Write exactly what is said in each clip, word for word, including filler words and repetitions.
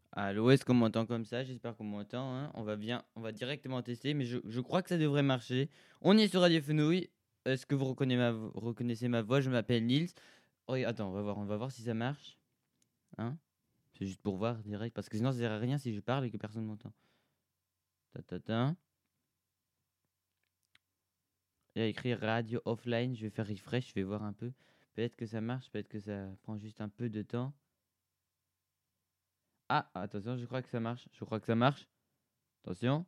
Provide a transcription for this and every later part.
Allô, est-ce qu'on m'entend comme ça? J'espère qu'on m'entend, hein. On va bien, on va directement tester, mais je, je crois que ça devrait marcher. On est sur Radio Fenouil. Est-ce que vous reconnaissez ma, vo- reconnaissez ma voix? Je m'appelle Nils. Oh, et attends, on va voir, on va voir si ça marche. Hein? C'est juste pour voir direct, parce que sinon ça sert à rien si je parle et que personne m'entend. Ta, ta, ta. Il y a écrit radio offline. Je vais faire refresh, je vais voir un peu. Peut-être que ça marche, peut-être que ça prend juste un peu de temps. Ah, attention, je crois que ça marche. Je crois que ça marche. Attention.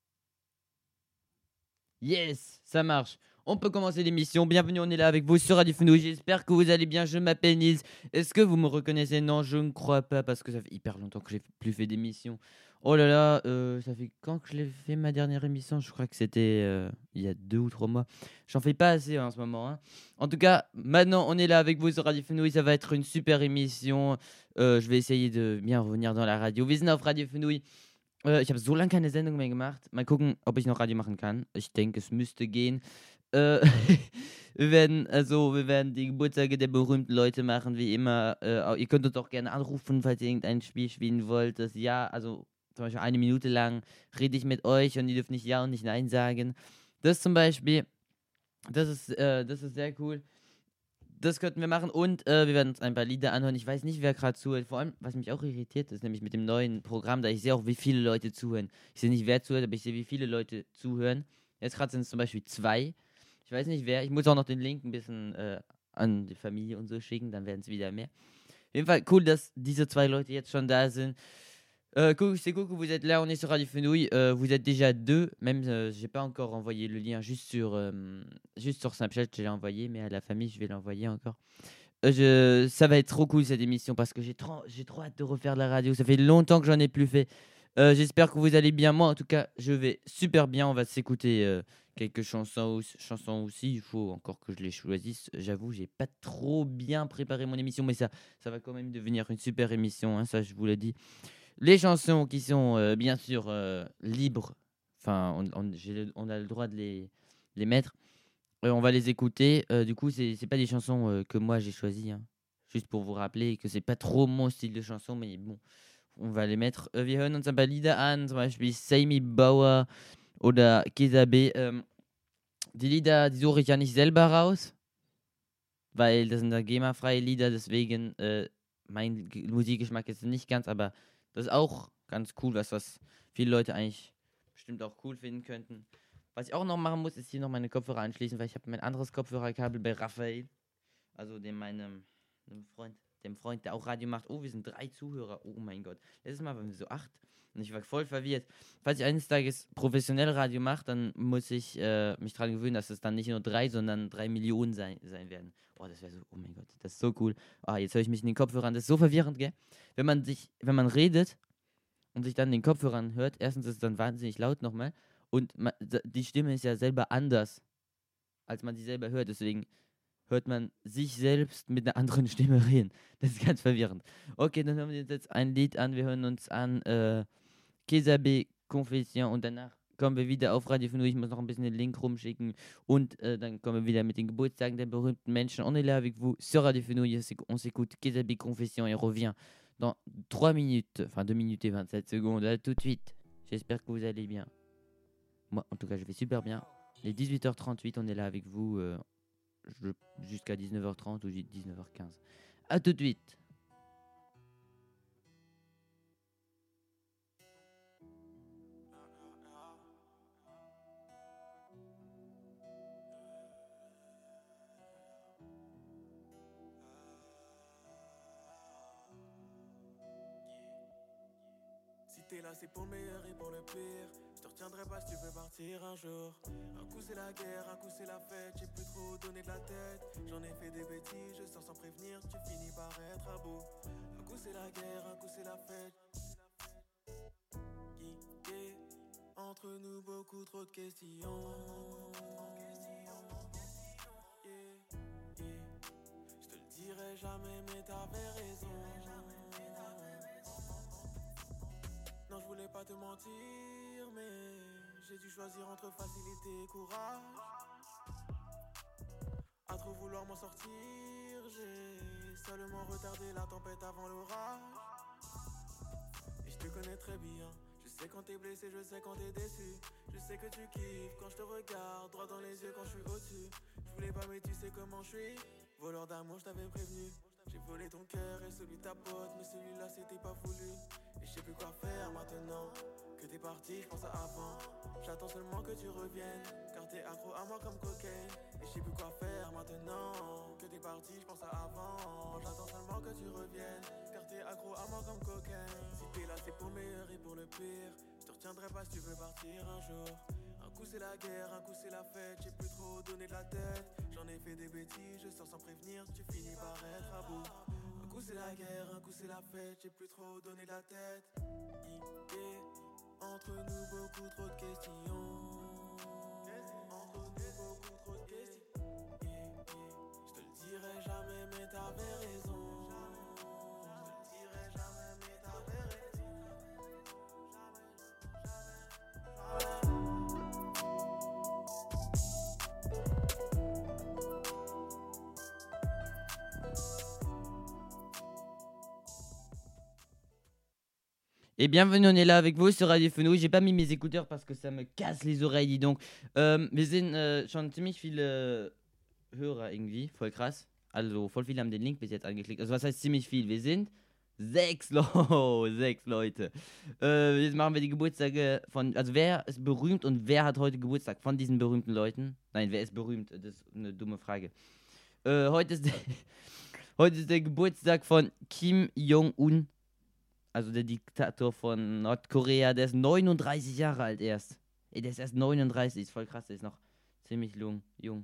Yes, ça marche. On peut commencer l'émission. Bienvenue, on est là avec vous sur Radio Fenouil. J'espère que vous allez bien. Je m'appelle Nils. Est-ce que vous me reconnaissez? Non, je ne crois pas parce que ça fait hyper longtemps que j'ai plus fait d'émission. Oh là là, euh, ça fait quand que je l'ai fait ma dernière émission? Je crois que c'était euh, il y a deux ou trois mois. J'en fais pas assez en ce moment, hein. En tout cas, maintenant on est là avec vous sur Radio Fenouil. Ça va être une super émission. Euh, je vais essayer de bien revenir dans la radio. Wir sind auf Radio Fenouil. Äh, ich habe so lange keine Sendung mehr gemacht. Mal gucken, ob ich noch Radio machen kann. Ich denke, es müsste gehen. Äh, wir werden, also, wir werden die Geburtstage der berühmten Leute machen, wie immer. Äh, au- ihr könnt uns auch gerne anrufen, falls ihr irgendein Spiel spielen wollt. Das Ja, also zum Beispiel eine Minute lang rede ich mit euch und ihr dürft nicht Ja und nicht Nein sagen. Das zum Beispiel, das ist, äh, das ist sehr cool. Das könnten wir machen und äh, wir werden uns ein paar Lieder anhören. Ich weiß nicht, wer gerade zuhört. Vor allem, was mich auch irritiert, ist nämlich mit dem neuen Programm, da ich sehe auch, wie viele Leute zuhören. Ich sehe nicht, wer zuhört, aber ich sehe, wie viele Leute zuhören. Jetzt gerade sind es zum Beispiel zwei. Ich weiß nicht, wer. Ich muss auch noch den Link ein bisschen äh, an die Familie und so schicken, dann werden es wieder mehr. Auf jeden Fall cool, dass diese zwei Leute jetzt schon da sind. Euh, cool, c'est cool que vous êtes là, on est sur Radio Fenouil. Euh, vous êtes déjà deux, même euh, j'ai pas encore envoyé le lien juste sur, euh, juste sur Snapchat, je l'ai envoyé, mais à la famille, je vais l'envoyer encore. Euh, je, ça va être trop cool cette émission parce que j'ai trop, j'ai trop hâte de refaire de la radio. Ça fait longtemps que j'en ai plus fait. Euh, j'espère que vous allez bien. Moi, en tout cas, je vais super bien. On va s'écouter euh, quelques chansons, aussi- chansons aussi. Il faut encore que je les choisisse. J'avoue, j'ai pas trop bien préparé mon émission, mais ça, ça va quand même devenir une super émission, hein, ça, je vous l'ai dit. Les chansons qui sont euh, bien sûr euh, libres, enfin, on, on- j'ai le- on a le droit de les, les mettre. Euh, on va les écouter. Euh, du coup, c'est c'est pas des chansons euh, que moi j'ai choisies, hein. Juste pour vous rappeler que c'est pas trop mon style de chanson, mais bon, on va les mettre. Äh, wir hören uns ein paar Lieder an, zum Beispiel Sammy Bauer oder Kesa B. Ähm, die Lieder, die suche ich ja nicht selber raus, weil das sind ja GEMA-freie Lieder, deswegen äh, mein G- Musikgeschmack ist nicht ganz, aber das ist auch ganz cool, was, was viele Leute eigentlich bestimmt auch cool finden könnten. Was ich auch noch machen muss, ist hier noch meine Kopfhörer anschließen, weil ich habe mein anderes Kopfhörerkabel bei Raphael, also dem meinem, dem Freund, dem Freund, der auch Radio macht. Oh, wir sind drei Zuhörer. Oh mein Gott. Letztes Mal waren wir so acht. Und ich war voll verwirrt. Falls ich eines Tages professionell Radio mache, dann muss ich äh, mich daran gewöhnen, dass es dann nicht nur drei, sondern drei Millionen sein, sein werden. Oh, das wäre so, oh mein Gott, das ist so cool. Ah, jetzt höre ich mich in den Kopfhörern. Das ist so verwirrend, gell? Wenn man sich, wenn man redet und sich dann den Kopfhörern hört, erstens ist es dann wahnsinnig laut nochmal. Und ma, die Stimme ist ja selber anders, als man sie selber hört. Deswegen hört man sich selbst mit einer anderen Stimme reden. Das ist ganz verwirrend. Okay, dann hören wir uns jetzt ein Lied an. Wir hören uns an äh, Kesabe Confession und danach kommen wir wieder auf Radio Fenouil. Ich muss noch ein bisschen den Link rumschicken und äh, dann kommen wir wieder mit den Geburtstagen der berühmten Menschen. On est là avec vous sur Radio Fenouil. On s'écoute Kesabe Confession et revient dans trois minutes, enfin deux minutes et vingt-sept secondes. À tout de suite. J'espère que vous allez bien. Moi, en tout cas, je vais super bien. Les dix-huit heures trente-huit, on est là avec vous. Euh, je- jusqu'à dix-neuf heures trente ou dix-neuf heures quinze. A tout de suite. Si t'es là, c'est pour le meilleur et pour le pire. Je te retiendrai pas si tu veux partir un jour. Un coup c'est la guerre, un coup c'est la fête. J'ai plus trop donné de la tête. J'en ai fait des bêtises, je sors sans prévenir. Tu finis par être à bout. Un coup c'est la guerre, un coup c'est la fête. Geeké, entre nous beaucoup trop de questions. Yeah, yeah. Je te le dirai jamais, mais t'avais raison. Non, je voulais pas te mentir, mais j'ai dû choisir entre facilité et courage. À trop vouloir m'en sortir, j'ai seulement retardé la tempête avant l'orage. Et je te connais très bien. Je sais quand t'es blessé, je sais quand t'es déçu. Je sais que tu kiffes quand je te regarde droit dans les yeux quand je suis au-dessus. Je voulais pas mais tu sais comment je suis. Voleur d'amour, je t'avais prévenu. J'ai volé ton cœur et celui de ta pote, mais celui-là c'était pas voulu. Et je sais plus quoi faire maintenant que t'es parti, je pense à avant. J'attends seulement que tu reviennes, car t'es accro à moi comme cocaine. Et je sais plus quoi faire maintenant que t'es parti, je pense à avant. J'attends seulement que tu reviennes, car t'es accro à moi comme cocaine. Si t'es là c'est pour le meilleur et pour le pire. Je te retiendrai pas si tu veux partir un jour. Un coup c'est la guerre, un coup c'est la fête. J'ai plus trop donné de la tête. J'en ai fait des bêtises, je sors sans prévenir. Tu finis par être à bout. Un coup c'est la guerre, un coup c'est la fête. J'ai plus trop donné de la tête. Yeah. Entre nous beaucoup trop de questions. Entre nous beaucoup trop de questions. Yeah, yeah. Je te le dirai jamais mais t'avais raison. Je te le dirai jamais mais t'avais raison. Jamais, jamais, jamais. Et bienvenue, on est là avec vous sur Radio Fenouil. J'ai pas mis mes écouteurs parce que ça me casse les oreilles, dis donc. Ähm, wir sind äh, schon ziemlich viele Hörer irgendwie, voll krass. Also voll viele haben den Link bis jetzt angeklickt. Also was heißt ziemlich viel? Wir sind sechs, Lo sechs Leute. Äh, jetzt machen wir die Geburtstage von, also wer ist berühmt und wer hat heute Geburtstag von diesen berühmten Leuten? Nein, wer ist berühmt? Das ist eine dumme Frage. Äh, heute, ist der, heute ist der Geburtstag von Kim Jong-un. Also der Diktator von Nordkorea, der ist neununddreißig Jahre alt erst. Ey, der ist erst neununddreißig, ist voll krass, der ist noch ziemlich jung. jung.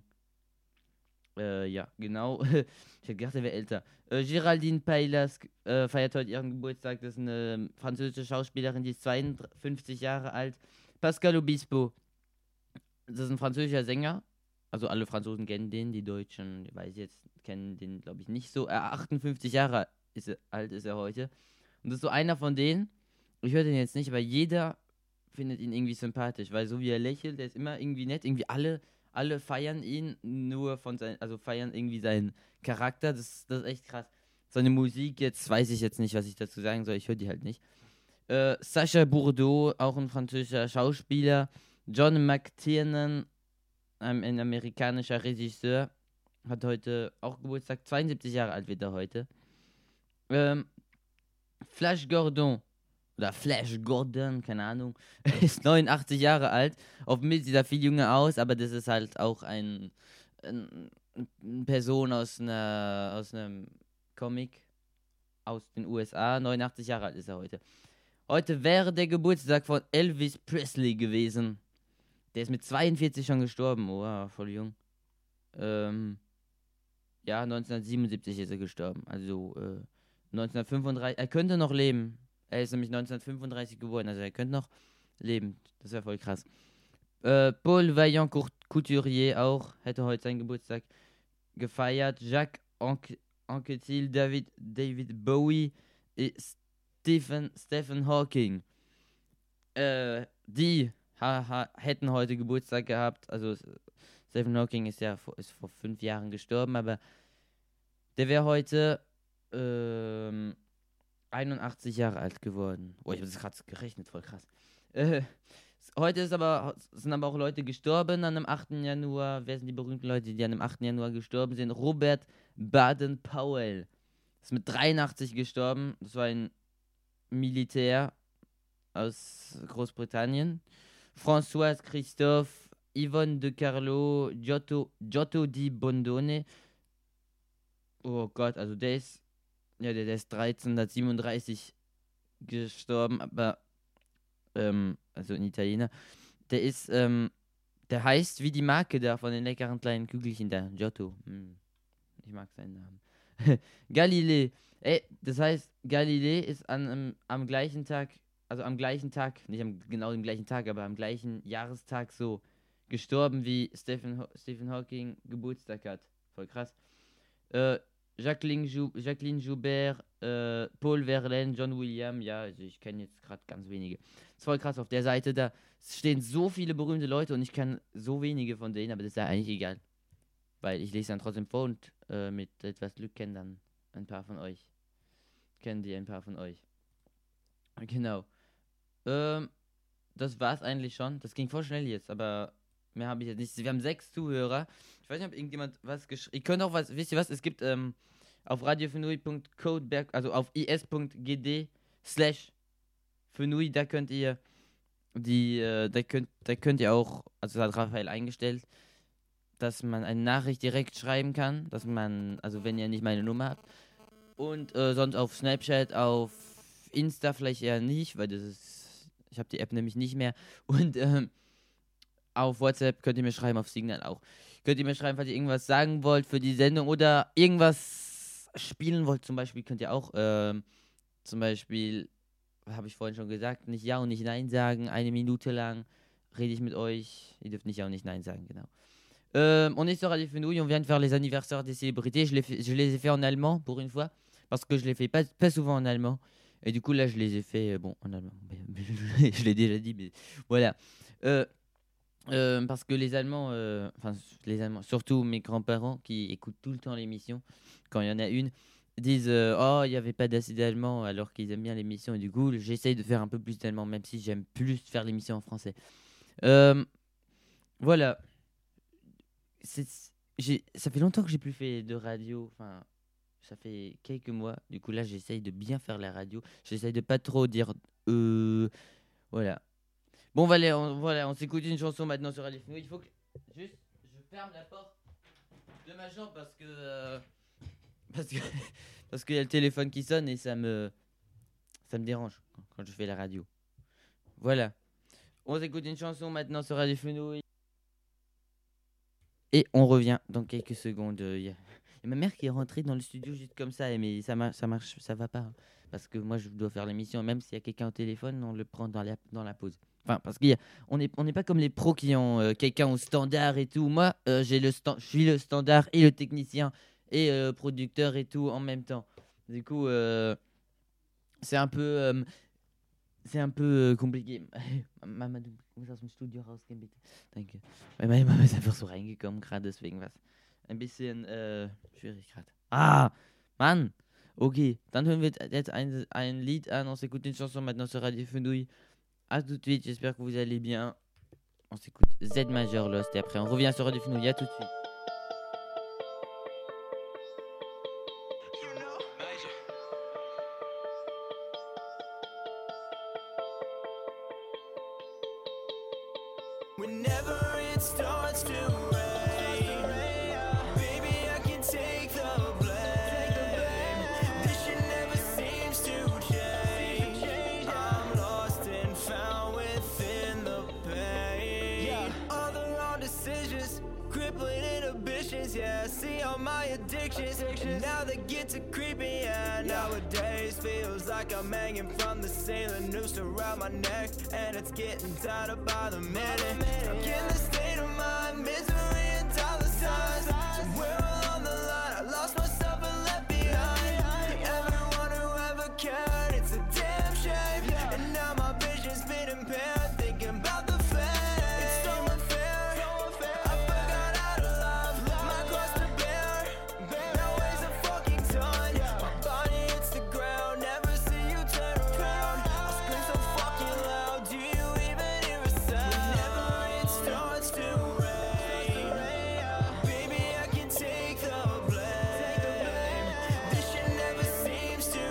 Äh, ja, genau. Ich hätte gedacht, der wäre älter. Äh, Géraldine Paylas äh, feiert heute ihren Geburtstag. Das ist eine französische Schauspielerin, die ist zweiundfünfzig Jahre alt. Pascal Obispo, das ist ein französischer Sänger. Also alle Franzosen kennen den, die Deutschen, ich weiß jetzt, kennen den, glaube ich, nicht so. Äh, achtundfünfzig Jahre ist er, alt ist er heute. Und das ist so einer von denen, ich höre den jetzt nicht, aber jeder findet ihn irgendwie sympathisch, weil so wie er lächelt, der ist immer irgendwie nett, irgendwie alle, alle feiern ihn nur von seinem, also feiern irgendwie seinen Charakter, das, das ist echt krass. Seine Musik, jetzt weiß ich jetzt nicht, was ich dazu sagen soll, ich höre die halt nicht. Äh, Sacha Bourdeau, auch ein französischer Schauspieler, John McTiernan, ein, ein amerikanischer Regisseur, hat heute auch Geburtstag, zweiundsiebzig Jahre alt wird er heute. Ähm, Flash Gordon, oder Flash Gordon, keine Ahnung, ist neunundachtzig Jahre alt. Auf dem Bild sieht er viel jünger aus, aber das ist halt auch ein, ein, eine Person aus, einer, aus einem Comic aus den U S A. neunundachtzig Jahre alt ist er heute. Heute wäre der Geburtstag von Elvis Presley gewesen. Der ist mit zweiundvierzig schon gestorben. Oh, voll jung. Ähm, ja, neunzehnhundertsiebenundsiebzig ist er gestorben. Also, äh, neunzehnhundertfünfunddreißig, er könnte noch leben. Er ist nämlich neunzehnhundertfünfunddreißig geboren, also er könnte noch leben. Das wäre voll krass. Äh, Paul Vaillant-Couturier auch, hätte heute seinen Geburtstag gefeiert. Jacques Anque- Anquetil, David, David Bowie, et Stephen, Stephen Hawking. Äh, die ha, ha, hätten heute Geburtstag gehabt. Also Stephen Hawking ist ja vor, ist vor fünf Jahren gestorben, aber der wäre heute ähm, einundachtzig Jahre alt geworden. Oh, ich habe das gerade gerechnet, voll krass. Äh, heute ist aber, sind aber auch Leute gestorben an dem achten Januar. Wer sind die berühmten Leute, die an dem achten Januar gestorben sind? Robert Baden-Powell ist mit dreiundachtzig gestorben. Das war ein Militär aus Großbritannien. François Christophe, Yvonne de Carlo, Giotto, Giotto di Bondone. Oh Gott, also der ist Ja, der, der ist dreizehnhundertsiebenunddreißig gestorben, aber, ähm, also ein Italiener. Der ist, ähm, der heißt wie die Marke da von den leckeren kleinen Kügelchen da, Giotto. Hm, ich mag seinen Namen. Galilei. Ey, das heißt, Galilei ist an, am, am gleichen Tag, also am gleichen Tag, nicht am genau dem gleichen Tag, aber am gleichen Jahrestag so gestorben, wie Stephen, Ho- Stephen Hawking Geburtstag hat. Voll krass. Äh, Jacqueline, Jou Jacqueline Joubert, äh, Paul Verlaine, John William, ja, also ich kenne jetzt gerade ganz wenige. Ist voll krass, auf der Seite, da stehen so viele berühmte Leute und ich kann so wenige von denen, aber das ist ja eigentlich egal. Weil ich lese dann trotzdem vor und äh, mit etwas Glück kennen dann ein paar von euch. Kennen die ein paar von euch. Genau. Ähm, das war's eigentlich schon. Das ging voll schnell jetzt, aber mehr habe ich jetzt nicht. Wir haben sechs Zuhörer. Ich weiß nicht, ob irgendjemand was geschrieben. Ihr könnt auch was, wisst ihr was? Es gibt ähm, auf radiofenui punkt codeberg, also auf is.gd slash fenui, da könnt ihr die, äh, da könnt, da könnt ihr auch, also das hat Raphael eingestellt, dass man eine Nachricht direkt schreiben kann, dass man, also wenn ihr nicht meine Nummer habt. Und äh, sonst auf Snapchat, auf Insta vielleicht eher nicht, weil das ist, ich habe die App nämlich nicht mehr. Und ähm, auf WhatsApp könnt ihr mir schreiben, auf Signal auch. Könnt ihr mir schreiben, falls ihr irgendwas sagen wollt für die Sendung oder irgendwas spielen wollt. Zum Beispiel könnt ihr auch, ähm, zum Beispiel, habe ich vorhin schon gesagt, nicht Ja und nicht Nein sagen. Eine Minute lang rede ich mit euch. Ihr dürft nicht Ja und nicht Nein sagen, genau. Euh, on est sur Radio Fenouille, on vient de faire les anniversaires des célébrités. Je, fait, je les ai fait en allemand pour une fois, parce que je les fais pas, pas souvent en allemand. Et du coup, là, je les ai fait, euh, bon, en allemand. Je l'ai déjà dit, mais voilà. Euh, euh, parce que les Allemands, enfin, euh, les Allemands, surtout mes grands-parents qui écoutent tout le temps l'émission, quand il y en a une, disent euh, oh, il n'y avait pas d'assez d'allemand, alors qu'ils aiment bien l'émission. Et du coup, j'essaye de faire un peu plus d'allemand, même si j'aime plus faire l'émission en français. Euh, voilà. C'est, j'ai, ça fait longtemps que j'ai plus fait de radio, enfin ça fait quelques mois, du coup là j'essaye de bien faire la radio, j'essaye de pas trop dire euh, voilà. Bon voilà, on, voilà, on s'écoute une chanson maintenant sur Radio Fenouille. Il faut que juste je ferme la porte de ma chambre parce que euh, parce que parce qu'il y a le téléphone qui sonne et ça me ça me dérange quand, quand je fais la radio. Voilà, on s'écoute une chanson maintenant sur Radio Fenouille. Et on revient dans quelques secondes. Il y a ma mère qui est rentrée dans le studio juste comme ça, mais ça marche, ça marche, ça va pas. Hein, parce que moi, je dois faire l'émission. Même s'il y a quelqu'un au téléphone, on le prend dans la, dans la pause. Enfin, parce qu'on n'est on n'est pas comme les pros qui ont euh, quelqu'un au standard et tout. Moi, euh, j'ai le sta- je suis le standard et le technicien et le euh, producteur et tout en même temps. Du coup, euh, c'est un peu... Euh, C'est un peu äh, compliqué. Mama, du musst aus dem Studio rausgehen, bitte. Danke. Weil meine Mama ist einfach so reingekommen gerade, deswegen was. Ein bisschen äh, schwierig gerade. Ah, Mann. Ok, dann hören wir jetzt ein, ein Lied an. On s'écoute une chanson maintenant sur Radio Fenouille. A tout de suite, j'espère que vous allez bien. On s'écoute Z majeur Lost et après on revient sur Radio Fenouille. A tout de suite. Whenever it starts to rain, baby, I can take the blame. This shit never seems to change. I'm lost and found within the pain. All the wrong decisions, crippling inhibitions. Yeah, I see all my addictions, and now they get to creeping. Yeah, nowadays feels like I'm hanging from the ceiling, noose around my neck, and it's getting tighter by the minute. Stuck in the state of mind, misery and dollar signs. Somewhere along the line, I lost myself and left behind everyone who ever cared. It's a damn shame, and now my vision's been impaired, thinking about the fame. It's so unfair, I forgot how to love. My cross to bear, now weighs a fucking ton. My body hits the ground, never see you turn around. I scream so fucking loud, do you even hear a sound? Whenever it starts to rain, baby, I can take the blame. This shit never seems to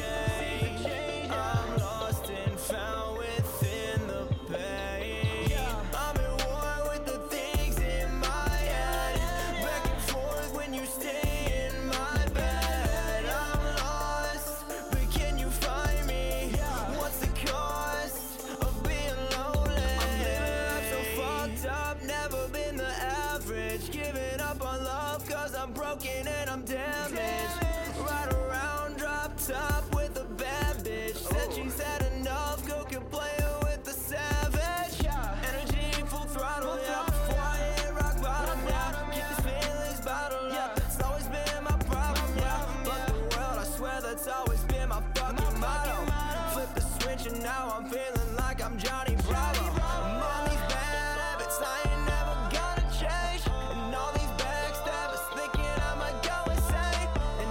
change. I'm lost and found within the pain. I'm at war with the things in my head, back and forth when you stay in my bed. I'm lost, but can you find me? What's the cost of being lonely? I'm living life so fucked up, never been the average. Giving up on love cause I'm broken and I'm damaged. Ride around drop top with a bad bitch. Said she's had enough, go can play her with the savage. Energy full throttle, yeah. Before I hit rock bottom, yeah. Keep these feelings bottled up. It's always been my problem, yeah. Fuck the world, I swear that's always been my fucking motto. Flip the switch and now I'm feeling like I'm Johnny Bravo. I'm on these bad habits, I ain't never gonna change. And all these backstabbers thinking I might go insane.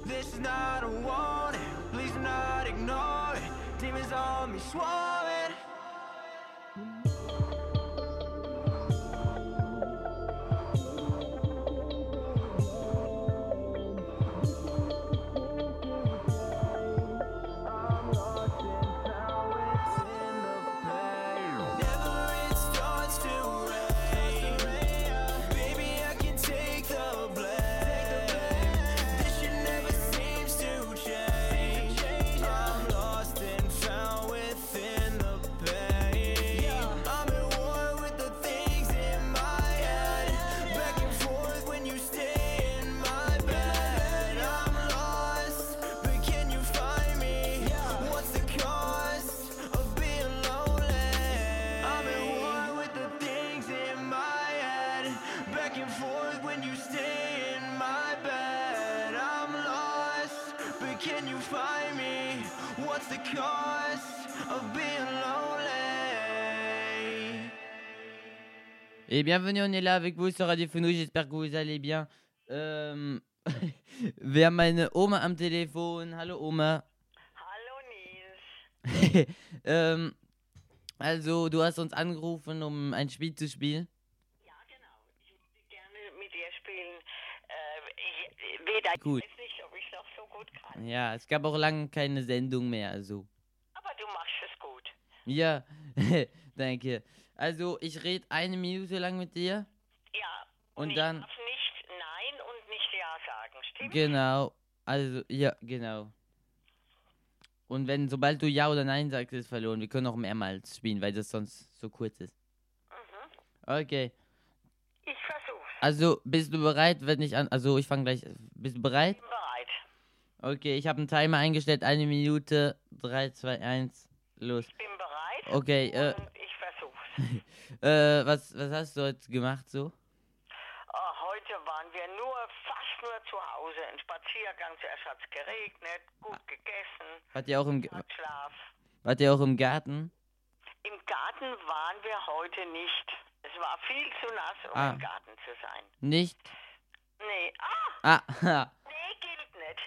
This is not a warning, please do not ignore it. Demons on me swarming. Can you find me? What's the cost of being lonely? Et bienvenue, on est là avec vous sur Radio Fenouil, j'espère que vous allez bien. Ähm, wir haben meine Oma am Telefon. Hallo Oma. Hallo Nils. ähm, also, du hast uns angerufen, um ein Spiel zu spielen. Ja, genau. Ich würde gerne mit dir spielen. Äh, ich, weder Gut. ich weiß nicht, ob ich noch so gut kann. Ja, es gab auch lange keine Sendung mehr, also. Aber du machst es gut. Ja, danke. Also, ich rede eine Minute lang mit dir. Ja. Und ich dann- darf nicht Nein und nicht Ja sagen, stimmt? Genau. Also, ja, genau. Und wenn, sobald du Ja oder Nein sagst, ist verloren. Wir können auch mehrmals spielen, weil das sonst so kurz ist. Mhm. Okay. Ich versuch's. Also, bist du bereit, wenn ich an... Also, ich fange gleich... Bist du bereit? Bin bereit. Okay, ich habe einen Timer eingestellt. Eine Minute. Drei, zwei, eins. Los. Ich bin bereit. Okay, äh, Und ich versuch's. äh, was, was hast du heute gemacht so? Oh, heute waren wir nur, fast nur zu Hause. Ein Spaziergang, zuerst hat's geregnet, gut gegessen, Wart ihr auch im, G- hat Schlaf. wart ihr auch im Garten? Im Garten waren wir heute nicht. Es war viel zu nass, um Ah. im Garten zu sein. Nicht? Nee, ah, Ah, ha. nee, gilt nicht.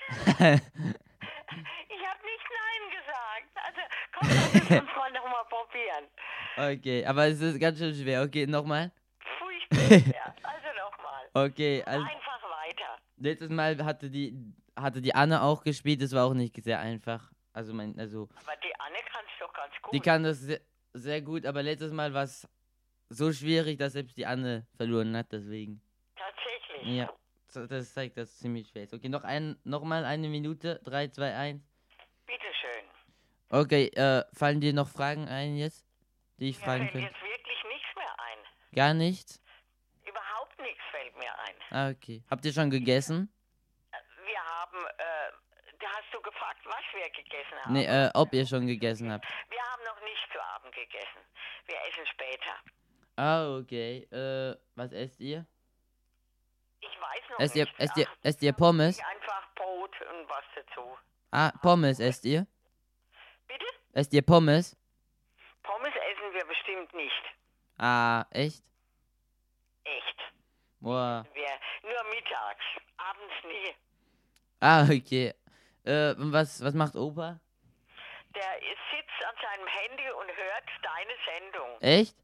Ich habe nicht Nein gesagt. Also, komm, lass uns uns mal nochmal probieren. Okay, aber es ist ganz schön schwer. Okay, nochmal. Furchtbar schwer. Also nochmal. Okay, also Einfach weiter. letztes Mal hatte die hatte die Anne auch gespielt, das war auch nicht sehr einfach. Also mein, also Aber die Anne kann's doch ganz gut. die kann das sehr, sehr gut, aber letztes Mal war es so schwierig, dass selbst die Anne verloren hat, deswegen. Tatsächlich. Ja, so- das zeigt, dass es ziemlich schwer ist. Okay, noch ein, noch mal eine Minute. Drei, zwei, eins. Bitteschön. Okay, äh, fallen dir noch Fragen ein jetzt, die ich Mir fragen fällt könnte? jetzt wirklich nichts mehr ein. Gar nichts? Überhaupt nichts fällt mir ein. Ah, okay. Habt ihr schon gegessen? Wir haben, äh, da hast du gefragt, was wir gegessen haben. Nee, äh, ob ihr schon gegessen habt. Wir haben noch nicht zu Abend gegessen. Wir essen später. Ah, okay. Äh, was esst ihr? Ich weiß noch Esst ihr, nicht. esst ihr, Ach, esst ihr Pommes? einfach Brot und was dazu. Ah, Pommes esst ihr? Bitte? Esst ihr Pommes? Pommes essen wir bestimmt nicht. Ah, echt? Echt. Boah. Wir nur mittags, abends nie. Ah, okay. Äh, und was, was macht Opa? Der sitzt an seinem Handy und hört deine Sendung. Echt?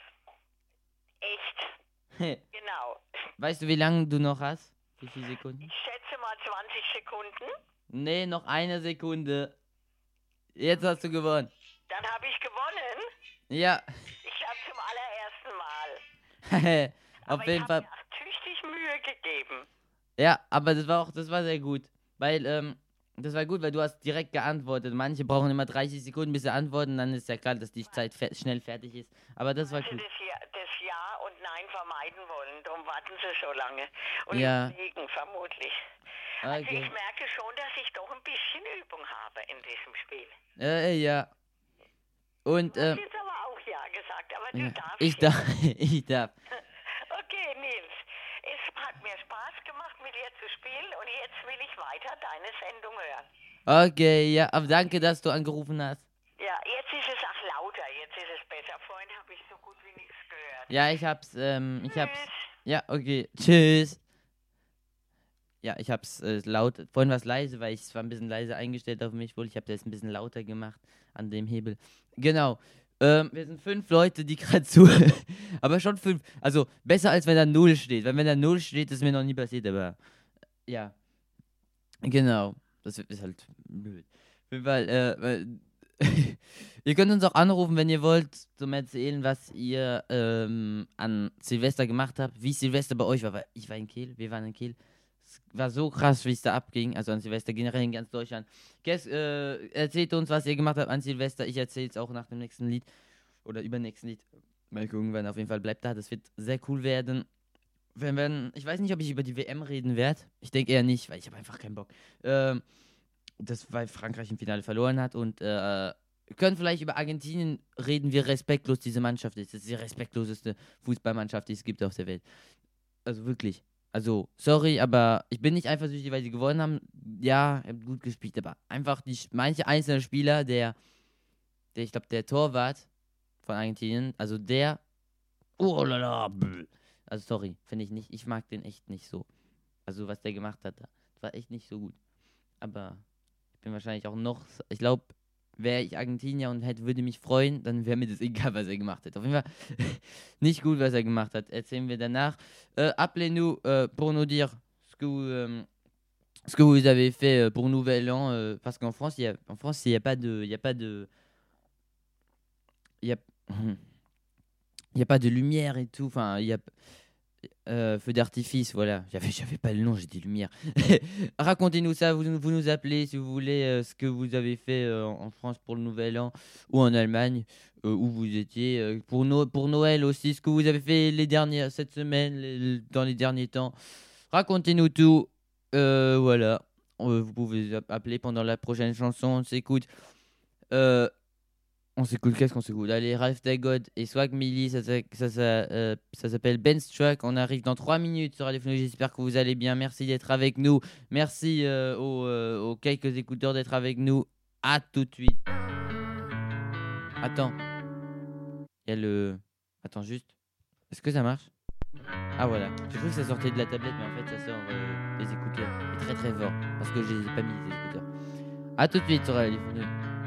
Echt. Genau. Weißt du, wie lange du noch hast? Wie viele Sekunden? Ich schätze mal zwanzig Sekunden. Nee, noch eine Sekunde. Jetzt hast du gewonnen. Dann habe ich gewonnen. Ja. Ich habe zum allerersten Mal. Auf Aber jeden ich Fall. habe mir auch tüchtig Mühe gegeben. Ja, aber das war auch, das war sehr gut. Weil, ähm, das war gut, weil du hast direkt geantwortet. Manche brauchen immer dreißig Sekunden, bis sie antworten, dann ist ja klar, dass die Zeit fe schnell fertig ist. Aber das war Weil sie gut. das ja, das Ja und Nein vermeiden wollen. Darum warten sie so lange. Und Ja. überlegen vermutlich. Also Okay. ich merke schon, dass ich doch ein bisschen Übung habe in diesem Spiel. Äh, ja. Und, Du hast ähm, jetzt aber auch Ja gesagt, aber du ja, darfst ich jetzt. darf, ich darf. Okay, Nils. Es hat mir Spaß gemacht, mit dir zu spielen und jetzt will ich weiter deine Sendung hören. Okay, ja, aber danke, dass du angerufen hast. Ja, jetzt ist es auch lauter, jetzt ist es besser. Vorhin habe ich so gut wie nichts gehört. Ja, ich hab's, ähm, ich hab's. Tschüss. Ja, okay. Tschüss. Ja, ich hab's äh, laut. Vorhin war es leise, weil ich es war ein bisschen leise eingestellt auf mich wohl. Ich habe das ein bisschen lauter gemacht an dem Hebel. Genau. Ähm, wir sind fünf Leute, die gerade zu. Aber schon fünf. Also besser als wenn da null steht. Weil wenn da null steht, ist mir noch nie passiert, aber ja. Genau. Das ist halt blöd. Auf jeden Fall, äh, weil, ihr könnt uns auch anrufen, wenn ihr wollt, zum Erzählen, was ihr ähm, an Silvester gemacht habt, wie Silvester bei euch war. Weil ich war in Kiel, wir waren in Kiel. Es war so krass, wie es da abging, also an Silvester generell in ganz Deutschland. Guess, äh, erzählt uns, was ihr gemacht habt an Silvester. Ich erzähle es auch nach dem nächsten Lied oder übernächsten Lied. Mal gucken, wann auf jeden Fall bleibt da. Das wird sehr cool werden. Wenn, wenn, ich weiß nicht, ob ich über die W M reden werde. Ich denke eher nicht, weil ich habe einfach keinen Bock. Ähm, das, weil Frankreich im Finale verloren hat und äh, wir können vielleicht über Argentinien reden, wie respektlos diese Mannschaft ist. Das ist die respektloseste Fußballmannschaft, die es gibt auf der Welt. Also wirklich. Also, sorry, aber ich bin nicht eifersüchtig, weil sie gewonnen haben. Ja, ihr habt gut gespielt, aber einfach die manche einzelne Spieler, der, der ich glaube, der Torwart von Argentinien, also der, oh lala, bäh. Also sorry, finde ich nicht, ich mag den echt nicht so. Also was der gemacht hat, das war echt nicht so gut. Aber ich bin wahrscheinlich auch noch, ich glaube, wäre ich Argentinier und hätte, würde mich freuen, dann wäre mir das egal, was er gemacht hat. Auf jeden Fall nicht gut, was er gemacht hat. Erzählen wir danach. Euh, Appelez-nous euh, pour nous dire ce que vous, euh, ce que vous avez fait euh, pour Nouvel An, euh, parce qu'en France, il y a, en France, il y a pas de, il y a pas de, il y a, il y a pas de lumière et tout. Enfin, il y a Euh, feu d'artifice, voilà. J'avais, j'avais pas le nom, j'ai dit lumière. Racontez-nous ça, vous, vous nous appelez si vous voulez euh, ce que vous avez fait euh, en France pour le Nouvel An ou en Allemagne, euh, où vous étiez. Euh, pour, no- pour Noël aussi, ce que vous avez fait les dernières, cette semaine, les- dans les derniers temps. Racontez-nous tout. Euh, voilà. Euh, vous pouvez appeler pendant la prochaine chanson, on s'écoute. Euh, On s'écoute, qu'est-ce qu'on s'écoute? Allez, Ralph Dagod et Swag Millie, ça, ça, ça, ça, euh, ça s'appelle Ben's Track. On arrive dans trois minutes sur Radio Fenouille. J'espère que vous allez bien. Merci d'être avec nous. Merci euh, aux, euh, aux quelques écouteurs d'être avec nous. À tout de suite. Attends. Il y a le. Attends, juste. Est-ce que ça marche? Ah voilà. J'ai cru que ça sortait de la tablette, mais en fait, ça sort euh, des écouteurs. Et très très fort. Parce que je les ai pas mis, les écouteurs. À tout de suite sur Radio Fenouille.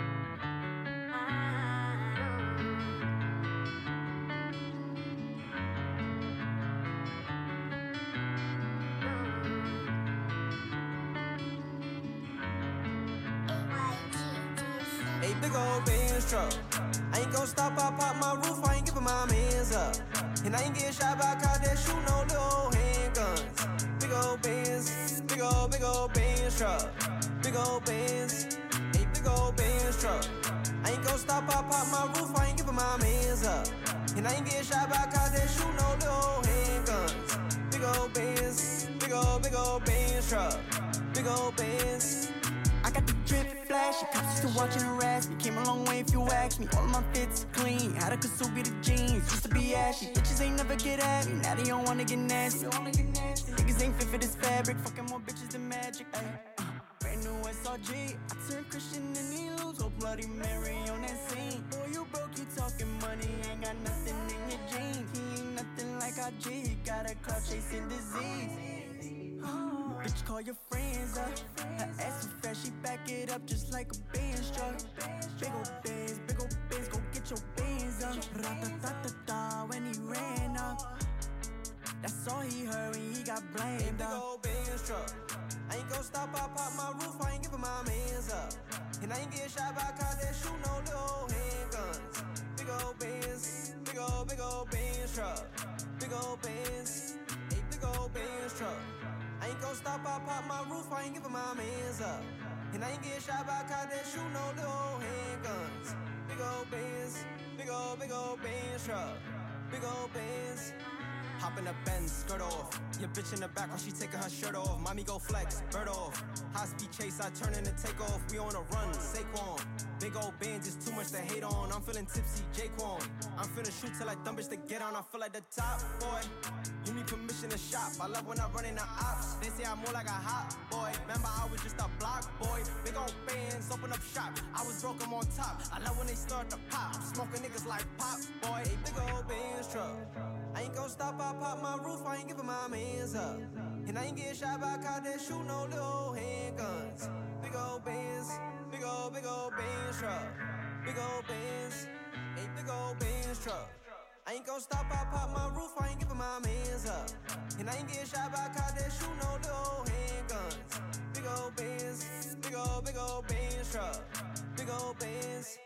Hey, big old Benz truck. I ain't gon' stop, I pop my roof, I ain't giving my mans up. And I ain't getting shot by a cop that shoot no little handguns. Big old Benz, big old, big old Benz truck. Big old Benz, hey, big old Benz truck. I ain't gon' stop, I pop my roof, I ain't giving my mans up. And I ain't getting shot by a cop that shoot no little handguns. Big old Benz, big old, big old Benz truck. Big old Benz. I got the drip flash, cops still watching harass me. Came a long way if you ask me. All of my fits clean, had a Kasubi the jeans. Used to be ashy, bitches ain't never get at me. Now they don't wanna get nasty. Niggas ain't fit for this fabric, fucking more bitches than magic. Ay, uh, brand new S R G, I turned Christian and he lose. Oh Bloody Mary on that scene. Boy, you broke, you talking money, ain't got nothing in your jeans. He ain't nothing like R G, got a clout chasing disease. Bitch, call your friends up. Her ass so fresh, she back it up just like a Benz truck. Big ol' Benz, big ol' Benz, go get your Benz up. Ra-ta-ta-ta-ta when he ran up. That's all he heard when he got blamed up. Big ol' Benz truck. I ain't gon' stop, I pop my roof, I ain't giving my mans up. And I ain't getting shot by cops that shoot no little handguns. Big ol' Benz, big ol', big ol' Benz truck. Big ol' Benz, hey, big ol' Benz truck. I ain't gon' stop, I pop my roof, I ain't giving my mans up. And I ain't getting shot by cops that shoot no little handguns. Big ol' Benz, big ol', big ol' Benz truck. Big ol' Benz. Hop in the Benz, skirt off. Your bitch in the back while she taking her shirt off. Mommy go flex, bird off. High speed chase, I turn in and take off. We on a run, Saquon. Big old bands is too much to hate on. I'm feeling tipsy, Jaquan. I'm finna shoot till I dumb bitch to get on. I feel like the top boy. You need permission to shop. I love when I run in the ops. They say I'm more like a hot boy. Remember I was just a block boy. Big old bands, open up shop. I was broke, I'm on top. I love when they start to pop. I'm smoking niggas like pop boy. A big old bands truck. I ain't gon' stop, I pop my roof, I ain't giving my mans up. And I ain't getting shot by a cop that shoot no little handguns. Big old bands, big old, big old bands truck. Big old bands, a big old bands truck. I ain't gon' stop, I pop my roof, I ain't giving my mans up. And I ain't getting shot by a cop that shoot no little handguns. Big old bands, big old, big old bands truck. Big old bands.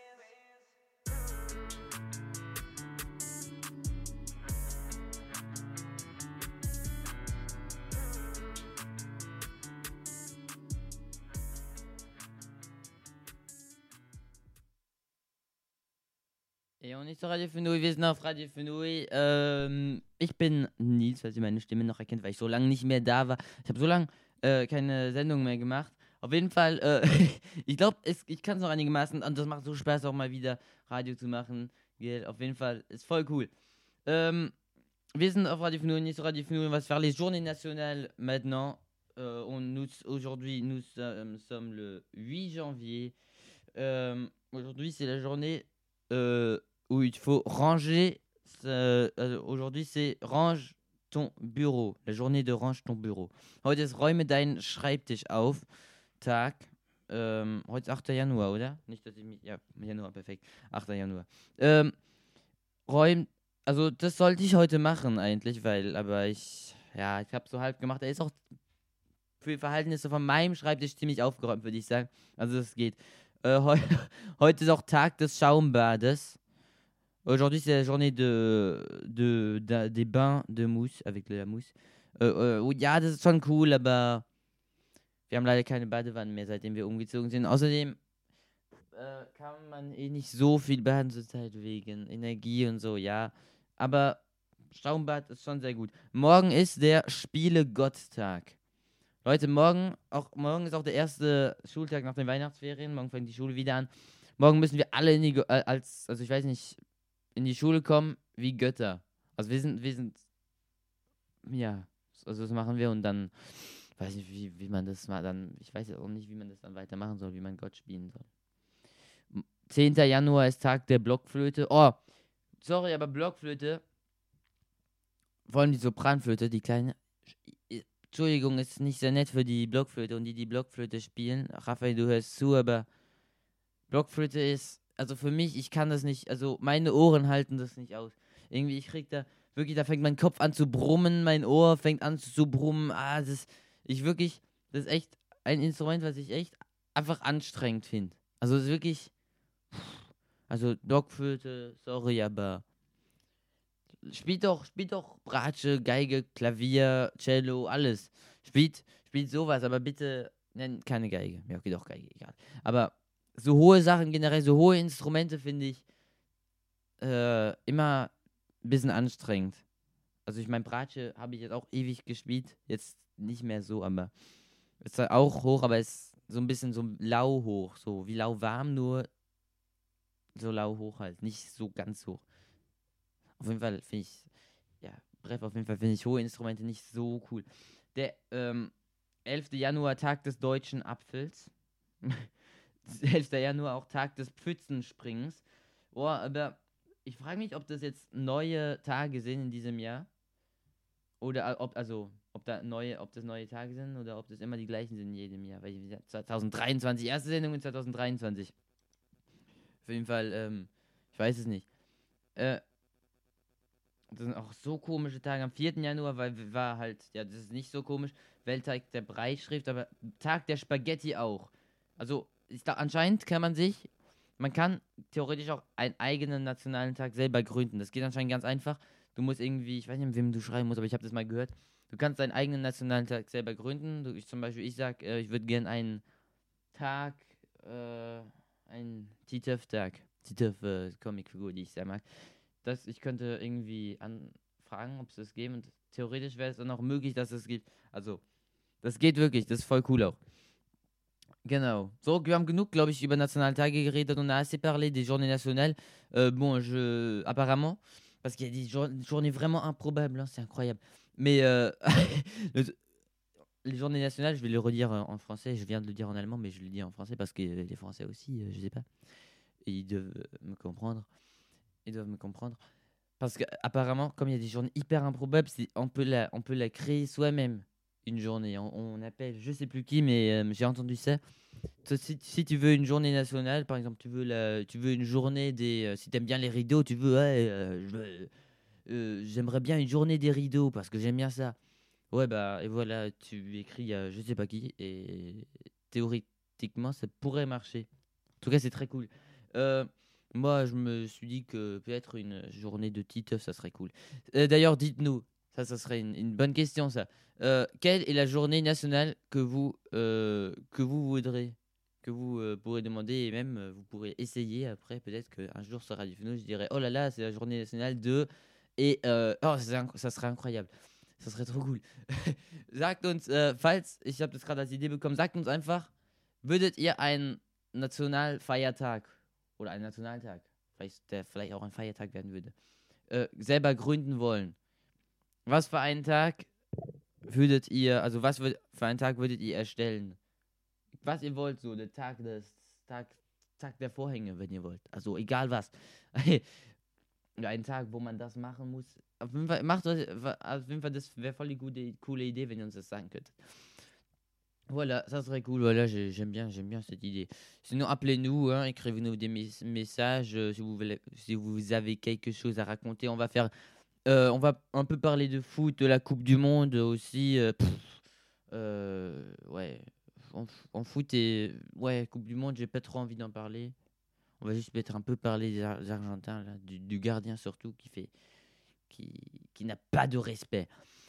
Et on ist auf Radio Fenouil, wir sind auf Radio Fenouil. Ähm, ich bin Nils, falls ihr meine Stimme noch erkennt, weil ich so lange nicht mehr da war. Ich habe so lange äh, keine Sendung mehr gemacht. Auf jeden Fall, äh, ich glaube, ich kann es noch einigermaßen und das macht so Spaß, auch mal wieder Radio zu machen. Gell? Auf jeden Fall, ist voll cool. Ähm, wir sind auf Radio Fenouil, sur Radio Fenouil, on va se faire les journées nationales maintenant. Euh, on, nous, aujourd'hui, nous euh, sommes le huit janvier. Euh, aujourd'hui, c'est la journée euh, où il faut ranger. Euh, aujourd'hui, c'est range ton Büro. La journée de range ton Büro. Heute ist räume deinen Schreibtisch auf. Tag. Ähm, heute ist achter Januar, oder? Nicht, dass ich mich. Ja, Januar, perfekt. achter Januar. Ähm, räum. Also, das sollte ich heute machen, eigentlich, weil. Aber ich. Ja, ich habe so halb gemacht. Er ist auch für die Verhältnisse von meinem Schreibtisch ziemlich aufgeräumt, würde ich sagen. Also, das geht. Euh, heute ist auch Tag des Schaumbades. Aujourd'hui, c'est la journée de, de, de, des bains de Mousse, avec de la Mousse. Äh, äh, ja, das ist schon cool, aber wir haben leider keine Badewanne mehr, seitdem wir umgezogen sind. Außerdem äh, kann man eh nicht so viel baden zurzeit wegen Energie und so, ja. Aber Schaumbad ist schon sehr gut. Morgen ist der Spiele-Gott-Tag. Leute, morgen, auch, morgen ist auch der erste Schultag nach den Weihnachtsferien. Morgen fängt die Schule wieder an. Morgen müssen wir alle in die, äh, als, also ich weiß nicht, in die Schule kommen wie Götter. Also wir sind, wir sind, ja, also das machen wir und dann, weiß nicht, wie, wie man das mal dann, ich weiß ja auch nicht, wie man das dann weitermachen soll, wie man Gott spielen soll. zehnter Januar ist Tag der Blockflöte. Oh, sorry, aber Blockflöte, vor allem die Sopranflöte, die kleine, Entschuldigung, ist nicht sehr nett für die Blockflöte und die, die Blockflöte spielen. Raphael, du hörst zu, aber Blockflöte ist, also für mich, ich kann das nicht, also meine Ohren halten das nicht aus. Irgendwie, ich krieg da, wirklich, da fängt mein Kopf an zu brummen, mein Ohr fängt an zu brummen. Ah, das ist, ich wirklich, das ist echt ein Instrument, was ich echt einfach anstrengend finde. Also es ist wirklich, also Blockflöte, sorry, aber spielt doch, spielt doch Bratsche, Geige, Klavier, Cello, alles. Spielt, spielt sowas, aber bitte, nein, keine Geige. Ja, okay, doch Geige, egal. Aber so hohe Sachen generell, so hohe Instrumente finde ich äh, immer ein bisschen anstrengend. Also ich meine, Bratsche habe ich jetzt auch ewig gespielt, jetzt nicht mehr so, aber ist halt auch hoch, aber ist so ein bisschen so lau hoch, so wie lauwarm, nur so lau hoch halt, nicht so ganz hoch. Auf jeden Fall finde ich, ja, Bref, auf jeden Fall finde ich hohe Instrumente nicht so cool. Der ähm, elfter Januar, Tag des deutschen Apfels. elfter Januar auch Tag des Pfützenspringens. Oh, aber ich frage mich, ob das jetzt neue Tage sind in diesem Jahr. Oder ob, also, ob da neue, ob das neue Tage sind oder ob das immer die gleichen sind in jedem Jahr. Weil zwanzig dreiundzwanzig, erste Sendung in zwanzig dreiundzwanzig. Auf jeden Fall, ähm, ich weiß es nicht. Äh, das sind auch so komische Tage. Am vierten Januar weil war halt, ja, das ist nicht so komisch, Welttag der Breischrift, aber Tag der Spaghetti auch. Also, ich, da, anscheinend kann man sich, man kann theoretisch auch einen eigenen nationalen Tag selber gründen. Das geht anscheinend ganz einfach. Du musst irgendwie, ich weiß nicht, mit wem du schreiben musst, aber ich habe das mal gehört. Du kannst deinen eigenen nationalen Tag selber gründen. Du, ich zum Beispiel, ich sag, äh, ich würde gerne einen Tag, äh, einen T-Töff-Tag, T-Töff-Comicfigur, die ich sehr mag. Das, ich könnte irgendwie anfragen, ob es das gibt. Und theoretisch wäre es dann auch möglich, dass es gibt. Also, das geht wirklich. Das ist voll cool auch. Genau. So, wir haben genug, glaube ich, über nationale Tage geredet. On a assez parlé des journées nationales. Euh, bon, je... Apparemment, parce qu'il y a des jour- journées vraiment improbables, hein, c'est incroyable. Mais euh, le- les journées nationales, je vais le redire euh, en français. Je viens de le dire en allemand, mais je le dis en français parce que les Français aussi, euh, je sais pas. Et ils doivent euh, me comprendre. Ils doivent me comprendre. Parce que apparemment, comme il y a des journées hyper improbables, c'est- on peut la, on peut la créer soi-même. une journée. On, on appelle, je sais plus qui, mais euh, j'ai entendu ça. Toi, Si, si tu veux une journée nationale, par exemple, tu veux, la, tu veux une journée des. Euh, si t'aimes bien les rideaux, tu veux. Ouais, euh, je veux- euh, j'aimerais bien une journée des rideaux parce que j'aime bien ça. Ouais, bah, et voilà, tu écris à je sais pas qui, et théoriquement, ça pourrait marcher. En tout cas, c'est très cool. Euh, Moi, je me suis dit que peut-être une journée de Titeuf, ça serait cool. Euh, D'ailleurs, dites-nous, ça, ça serait une, une bonne question, ça. Euh, quelle est la journée nationale que vous, euh, que vous voudrez, que vous euh, pourrez demander, et même euh, vous pourrez essayer après, peut-être qu'un jour sur Radio Fino, je dirais, oh là là, c'est la journée nationale de... Et euh, oh, c'est inc- ça serait incroyable. Ça serait trop cool. Sagt uns, äh, falls, ich habe das gerade als Idee bekommen, sagt uns einfach, würdet ihr einen Nationalfeiertag oder einen Nationaltag, vielleicht, der vielleicht auch ein Feiertag werden würde, äh, selber gründen wollen? Was für einen Tag würdet ihr, also was würd, für einen Tag würdet ihr erstellen? Was ihr wollt, so der Tag des, Tag, Tag der Vorhänge, wenn ihr wollt. Also egal was. Ja, einen Tag, wo man das machen muss. Auf jeden Fall, macht euch, wa- auf jeden Fall, das wäre voll die gute, coole Idée, wenn ihr uns das sagen könnt. Voilà, ça serait cool. Voilà, j'ai- j'aime bien, j'aime bien cette idée. Sinon, appelez-nous, hein, écrivez-nous des mes- messages euh, si vous voulez, si vous avez quelque chose à raconter. On va faire, euh, on va un peu parler de foot, de la Coupe du Monde aussi. euh, pff, euh, ouais, en, f- en foot et ouais, Coupe du Monde, j'ai pas trop envie d'en parler. On va juste peut-être un peu parler des, Ar- des Argentins, là, du, du gardien surtout qui fait, qui, qui n'a pas de respect.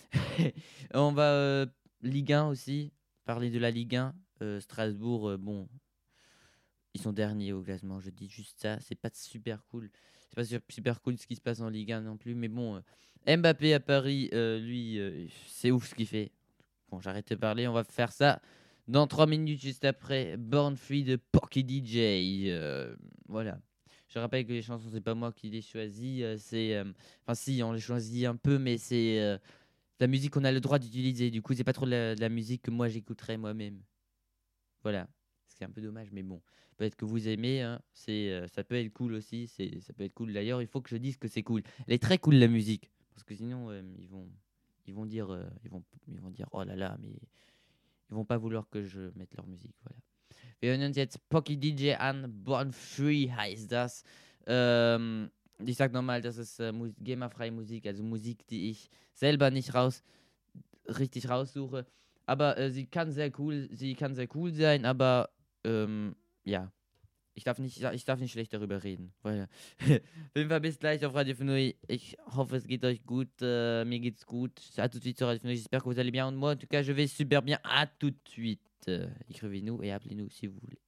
On va euh, Ligue un aussi, parler de la Ligue un. Euh, Strasbourg, euh, bon, ils sont derniers au classement. Je dis juste ça. C'est pas super cool. C'est pas su- super cool ce qui se passe en Ligue un non plus. Mais bon, euh, Mbappé à Paris, euh, lui, euh, c'est ouf ce qu'il fait. Bon, j'arrête de parler. On va faire ça dans trois minutes juste après. Born Free de Porky D J. Euh, voilà. Je rappelle que les chansons, c'est pas moi qui les choisis. euh, c'est, euh, enfin, si, on les choisit un peu, mais c'est euh, la musique qu'on a le droit d'utiliser. Du coup, c'est pas trop de la, de la musique que moi j'écouterais moi-même. Voilà. C'est un peu dommage, mais bon. Peut-être que vous aimez, hein. C'est, euh, ça peut être cool aussi. C'est, ça peut être cool. D'ailleurs, il faut que je dise que c'est cool. Elle est très cool la musique, parce que sinon, euh, ils vont, ils vont dire, euh, ils vont, ils vont dire, oh là là, mais ils vont pas vouloir que je mette leur musique. Voilà. Wir hören uns jetzt Pocky D J an. Born Free heißt das. Ähm, ich sag nochmal, das ist äh, Mu- GEMA-freie Musik, also Musik, die ich selber nicht raus richtig raussuche. Aber äh, sie kann sehr cool, sie kann sehr cool sein, aber ähm, ja, ich darf nicht, ich darf nicht schlecht darüber reden. Weil, auf jeden Fall bis gleich auf Radio Fenouille. Ich hoffe, es geht euch gut. Euh, mir geht's gut. À tout de suite sur Radio Fenouille. J'espère que vous allez bien. Moi, en tout cas, je vais super bien. À tout de suite. Euh, écrivez-nous et appelez-nous si vous voulez.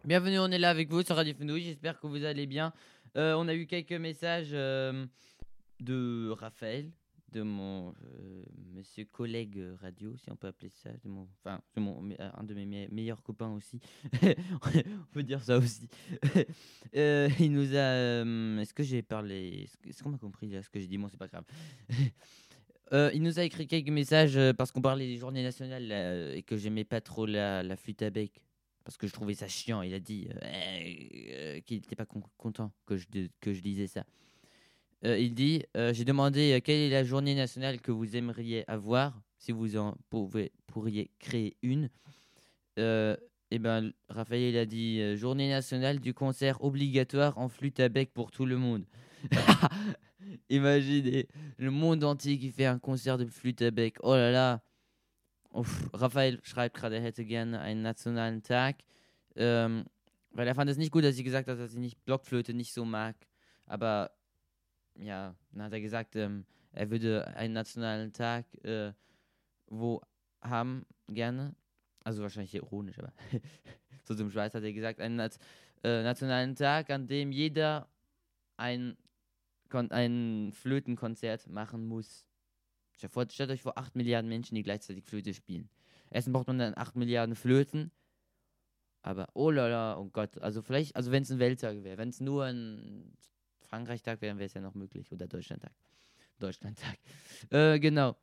Bienvenue, on est là avec vous sur Radio Fenouille, j'espère que vous allez bien. Euh, on a eu quelques messages euh, de Raphaël, de mon euh, monsieur collègue euh, radio, si on peut appeler ça, de mon, enfin, de mon, me- un de mes me- meilleurs copains aussi. On peut dire ça aussi. Euh, il nous a. euh, est-ce que j'ai parlé. Est-ce que- est-ce qu'on m'a compris là ce que j'ai dit? Bon, c'est pas grave. Euh, il nous a écrit quelques messages euh, parce qu'on parlait des journées nationales là, euh, et que j'aimais pas trop la, la flûte à bec. Parce que je trouvais ça chiant. Il a dit euh, euh, qu'il n'était pas con- content que je, de- que je disais ça. Euh, il dit euh, j'ai demandé euh, quelle est la journée nationale que vous aimeriez avoir, si vous en pouvez, pourriez créer une. Euh, et ben, Raphaël il a dit euh, journée nationale du concert obligatoire en flûte à bec pour tout le monde. Imaginez le monde entier qui fait un concert de flûte à bec. Oh là là. Uff, Raphael schreibt gerade, er hätte gerne einen nationalen Tag. Ähm, weil er fand es nicht gut, dass ich gesagt habe, dass ich nicht Blockflöte nicht so mag. Aber ja, dann hat er gesagt, ähm, er würde einen nationalen Tag äh, wo haben gerne. Also wahrscheinlich ironisch, aber so zum Schweiz hat er gesagt, einen Nat äh, nationalen Tag, an dem jeder ein, Kon ein Flötenkonzert machen muss. Stellt vor- stellt euch vor, acht Milliarden Menschen, die gleichzeitig Flöte spielen. Erstens braucht man dann acht Milliarden Flöten, aber oh la la, oh Gott, also vielleicht, also wenn es ein Welttag wäre, wenn es nur ein Frankreich-Tag wäre, wäre es ja noch möglich. Oder Deutschland-Tag. Deutschland-Tag. Äh, genau.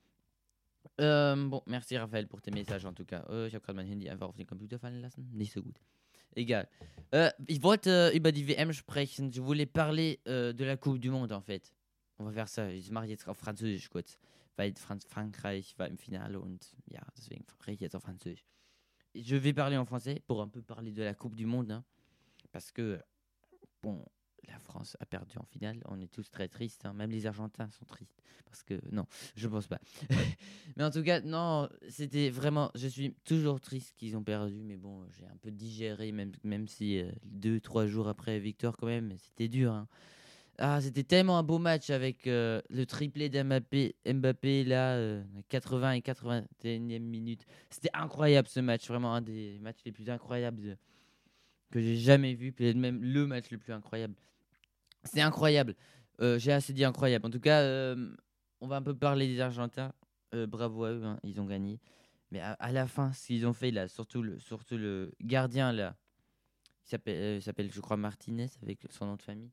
Ähm, bon, merci Raphaël pour tes messages en tout cas. Äh, ich habe gerade mein Handy einfach auf den Computer fallen lassen. Nicht so gut. Egal. Äh, ich wollte über die W M sprechen. Je voulais parler äh, de la Coupe du Monde en fait. On va faire ça. Ich mache jetzt auf Französisch kurz. Weil Franz Frankreich war im Finale und ja, deswegen spreche ich jetzt auf Französisch. Je vais parler en français pour un peu parler de la Coupe du Monde. Hein, parce que, bon, la France a perdu en finale. On est tous très tristes. Hein, même les Argentins sont tristes. Parce que, non, je pense pas. Mais en tout cas, non, c'était vraiment. Je suis toujours triste qu'ils ont perdu. Mais bon, j'ai un peu digéré, même, même si euh, deux, trois jours après la victoire, quand même, c'était dur. Hein. Ah, c'était tellement un beau match avec euh, le triplé d'Mbappé Mbappé, là, euh, quatre-vingts et quatre-vingt-et-unième minute. C'était incroyable ce match, vraiment un des matchs les plus incroyables de- que j'ai jamais vu, peut-être même le match le plus incroyable. C'est incroyable. Euh, j'ai assez dit incroyable. En tout cas, euh, on va un peu parler des Argentins. Euh, bravo à eux, hein, ils ont gagné. Mais à, à la fin, ce qu'ils ont fait là, surtout le, surtout le gardien là, il s'appelle, euh, il s'appelle, je crois, Martinez avec son nom de famille.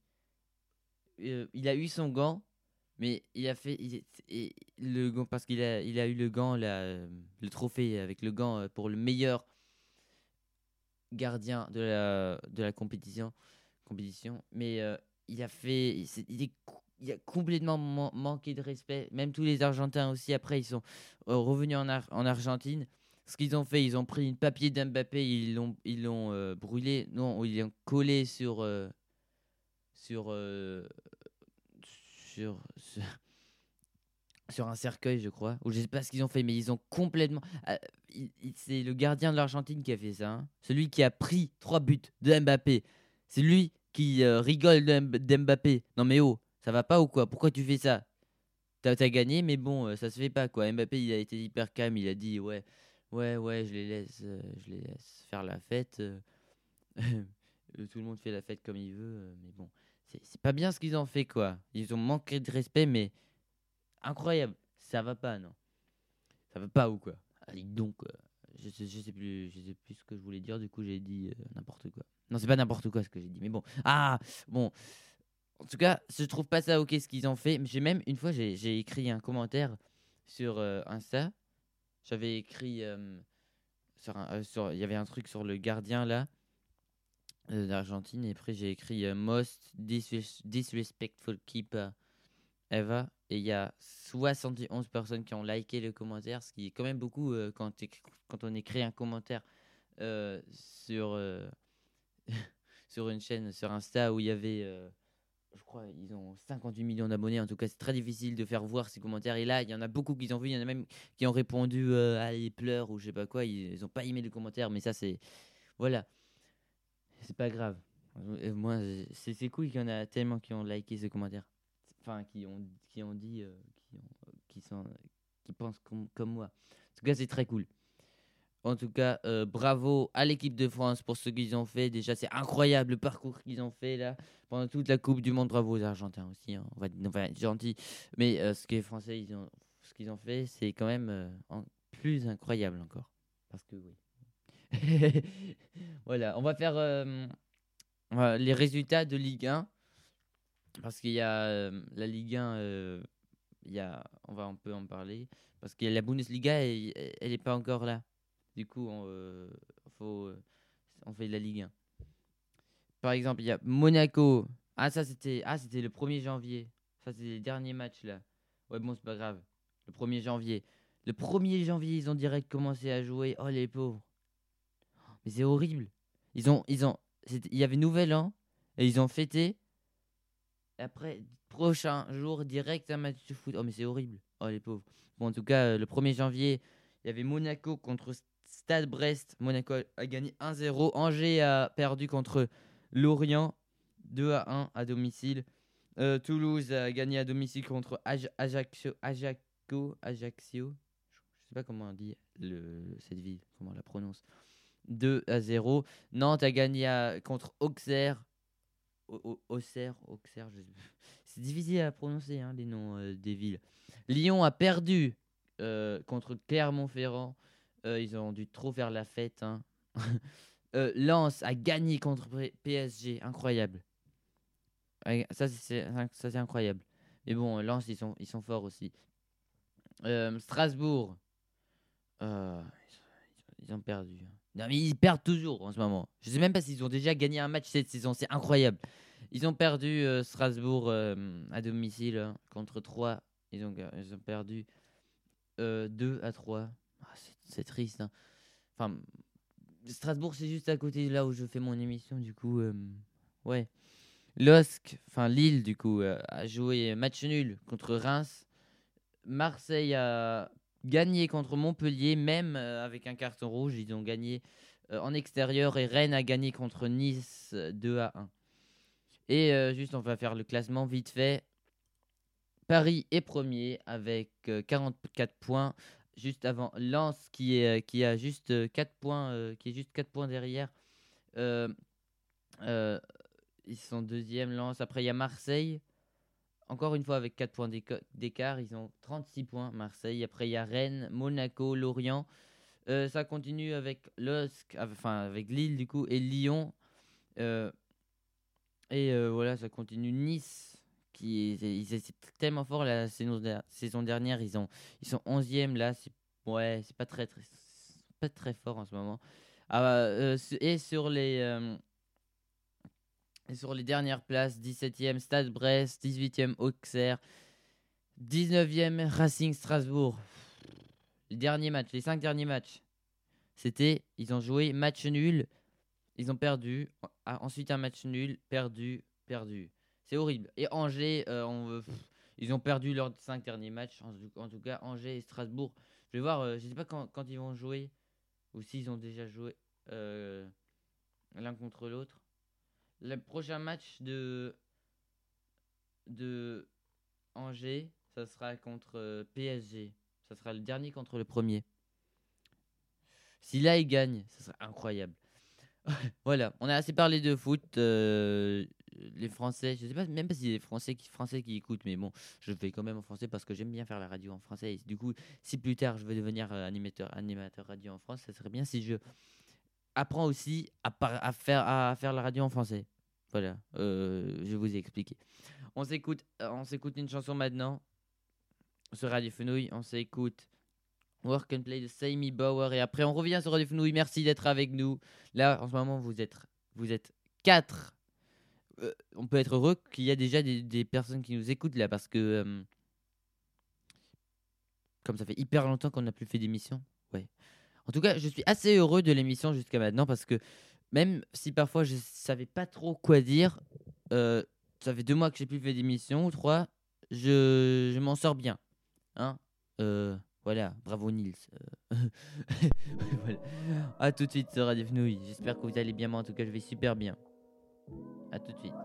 Euh, il a eu son gant, mais il a fait il est- et le gant parce qu'il a, il a eu le gant là, euh, le trophée avec le gant euh, pour le meilleur gardien de la de la compétition compétition. Mais euh, il a fait, il, s'est- il est co- il a complètement man- manqué de respect. Même tous les Argentins aussi après ils sont euh, revenus en, Ar- en Argentine. Ce qu'ils ont fait, ils ont pris une papier d'Mbappé, ils l'ont ils l'ont euh, brûlé, non, ils l'ont collé sur euh, sur euh, sur, sur sur un cercueil, je crois. Ou je sais pas ce qu'ils ont fait, mais ils ont complètement. Ah, il- il- c'est le gardien de l'Argentine qui a fait ça. Hein. Celui qui a pris trois buts de Mbappé. C'est lui qui euh, rigole de Mb- d'Mbappé. Non mais oh, ça va pas ou quoi? Pourquoi tu fais ça? T'as, t'as gagné, mais bon, euh, ça se fait pas quoi. Mbappé, il a été hyper calme. Il a dit ouais, ouais, ouais, je les laisse, euh, je les laisse faire la fête. euh. Euh, Tout le monde fait la fête comme il veut, euh, mais bon, c'est c'est pas bien ce qu'ils ont fait quoi. Ils ont manqué de respect, mais incroyable. Ça va pas, non? Ça va pas ou quoi? Allez donc, euh, je, sais, je sais plus, je sais plus ce que je voulais dire. Du coup, j'ai dit euh, n'importe quoi. Non, c'est pas n'importe quoi ce que j'ai dit, mais bon. Ah, bon. En tout cas, je trouve pas ça ok ce qu'ils ont fait. Mais j'ai même une fois, j'ai j'ai écrit un commentaire sur euh, Insta. J'avais écrit euh, sur, un- euh, sur, il y avait un truc sur le gardien là euh, d'Argentine et après j'ai écrit euh, most disres- disrespectful keeper Eva, et il y a soixante et onze personnes qui ont liké le commentaire, ce qui est quand même beaucoup euh, quand, t'éc- quand on écrit un commentaire euh, sur, euh, sur une chaîne, sur Insta où il y avait, euh, je crois, ils ont cinquante-huit millions d'abonnés. En tout cas, c'est très difficile de faire voir ces commentaires. Et là, il y en a beaucoup qui ont vu, il y en a même qui ont répondu euh, à les pleurs ou je sais pas quoi. Ils, ils ont pas aimé le commentaire, mais ça, c'est. Voilà, c'est pas grave. Euh, Moi, c'est c'est cool qu'il y en a tellement qui ont liké ce commentaire. Enfin, qui ont, qui ont dit, euh, qui, ont- qui, sont, qui pensent comme, comme moi. En tout cas, c'est très cool. En tout cas, euh, bravo à l'équipe de France pour ce qu'ils ont fait. Déjà, c'est incroyable le parcours qu'ils ont fait là pendant toute la Coupe du Monde. Bravo aux Argentins aussi, hein. On va, on va être gentil. Mais euh, ce que les Français, ils ont, ce qu'ils ont fait, c'est quand même euh, en- plus incroyable encore. Parce que oui. Voilà, on va faire euh, euh, les résultats de Ligue un. Parce qu'il y a euh, la Ligue un, euh, il y a, on va un peu en parler. Parce que la Bundesliga, elle, elle est pas encore là. Du coup, on, euh, faut, euh, on fait de la Ligue un. Par exemple, il y a Monaco. Ah, ça, c'était ah, c'était le premier janvier. Ça, c'est les derniers matchs, là. Ouais, bon, c'est pas grave. Le premier janvier. Le premier janvier, ils ont direct commencé à jouer. Oh, les pauvres. Mais c'est horrible. Ils ont, ils ont, c'était- il y avait Nouvel An. Et ils ont fêté. Et après, prochain jour, direct un match de foot. Oh, mais c'est horrible. Oh, les pauvres. Bon, en tout cas, euh, le premier janvier, il y avait Monaco contre S- Stade Brest. Monaco a, a gagné un zéro. Angers a perdu contre Lorient deux à un à domicile. Euh, Toulouse a gagné à domicile contre Aj- Ajaccio. Ajaccio. Ajaccio. Je sais pas comment on dit le, cette ville, comment on la prononce. deux à zéro. Nantes a gagné à- contre Auxerre. Au- au- Auxerre, Auxerre, je sais plus. C'est difficile à prononcer, hein, les noms euh, des villes. Lyon a perdu euh, contre Clermont-Ferrand. Euh, ils ont dû trop faire la fête, hein. Euh, Lens a gagné contre P- PSG, incroyable. Ouais, Ça, c'est ça, c'est incroyable. Mais bon, Lens, ils sont, ils sont forts aussi. Euh, Strasbourg, euh, ils ont perdu, hein. Non, mais ils perdent toujours en ce moment. Je sais même pas s'ils ont déjà gagné un match cette saison. C'est incroyable. Ils ont perdu euh, Strasbourg euh, à domicile hein, contre trois. Ils ont, ga- ils ont perdu euh, deux à trois. Ah, c'est c'est triste, hein. Enfin, Strasbourg, c'est juste à côté de là où je fais mon émission. Du coup, euh, ouais. Losk, enfin Lille, du coup, euh, a joué match nul contre Reims. Marseille a gagné contre Montpellier, même euh, avec un carton rouge. Ils ont gagné euh, en extérieur et Rennes a gagné contre Nice euh, deux à un. Et euh, juste, on va faire le classement vite fait. Paris est premier avec euh, quarante-quatre points. Juste avant Lens qui, est, euh, qui a juste euh, quatre points, euh, qui est juste quatre points derrière. Euh, euh, Ils sont deuxième, Lens. Après, il y a Marseille. Encore une fois, avec quatre points d'éca- d'écart, ils ont trente-six points, Marseille. Après, il y a Rennes, Monaco, Lorient. Euh, ça continue avec Losc, enfin avec Lille, du coup, et Lyon. Euh, et euh, voilà, ça continue. Nice, qui est, ils étaient tellement fort la saison, der- saison dernière. Ils, ont, ils sont onzième là. C'est, ouais, c'est pas très, très, pas très fort en ce moment. Ah, euh, et sur les. euh, et sur les dernières places, dix-septième Stade Brest, dix-huitième Auxerre, dix-neuvième Racing Strasbourg. Les derniers matchs, les cinq derniers matchs, c'était, ils ont joué match nul, ils ont perdu, ah, ensuite un match nul, perdu, perdu. C'est horrible. Et Angers, euh, on, euh, pff, ils ont perdu leurs cinq derniers matchs. En, tout en tout cas, Angers et Strasbourg. Je vais voir, euh, je sais pas quand, quand ils vont jouer ou s'ils ont déjà joué euh, l'un contre l'autre. Le prochain match de, de Angers, ça sera contre euh, P S G. Ça sera le dernier contre le premier. Si là, il gagne, ça serait incroyable. Voilà, on a assez parlé de foot. euh, les Français, je sais pas même pas si les Français qui, Français qui écoutent, mais bon, je le fais quand même en français parce que j'aime bien faire la radio en français. Et du coup, si plus tard je veux devenir euh, animateur, animateur radio en France, ça serait bien si je apprends aussi à, par- à faire, à faire la radio en français. Voilà, euh, je vous ai expliqué. On s'écoute, euh, on s'écoute une chanson maintenant sur Radio Fenouil. On s'écoute Work and Play de Sammy Bauer. Et après, on revient sur Radio Fenouil. Merci d'être avec nous. Là, en ce moment, vous êtes, vous êtes quatre. Euh, on peut être heureux qu'il y a déjà des, des personnes qui nous écoutent là parce que, euh, comme ça fait hyper longtemps qu'on n'a plus fait d'émission. Ouais. En tout cas, je suis assez heureux de l'émission jusqu'à maintenant parce que même si parfois je savais pas trop quoi dire, euh, ça fait deux mois que j'ai plus fait d'émission ou trois, je, je m'en sors bien. Hein. Euh, voilà, bravo Nils. Euh, voilà. À tout de suite sur Radio Fenouil. J'espère que vous allez bien. Moi, en tout cas, je vais super bien. À tout de suite.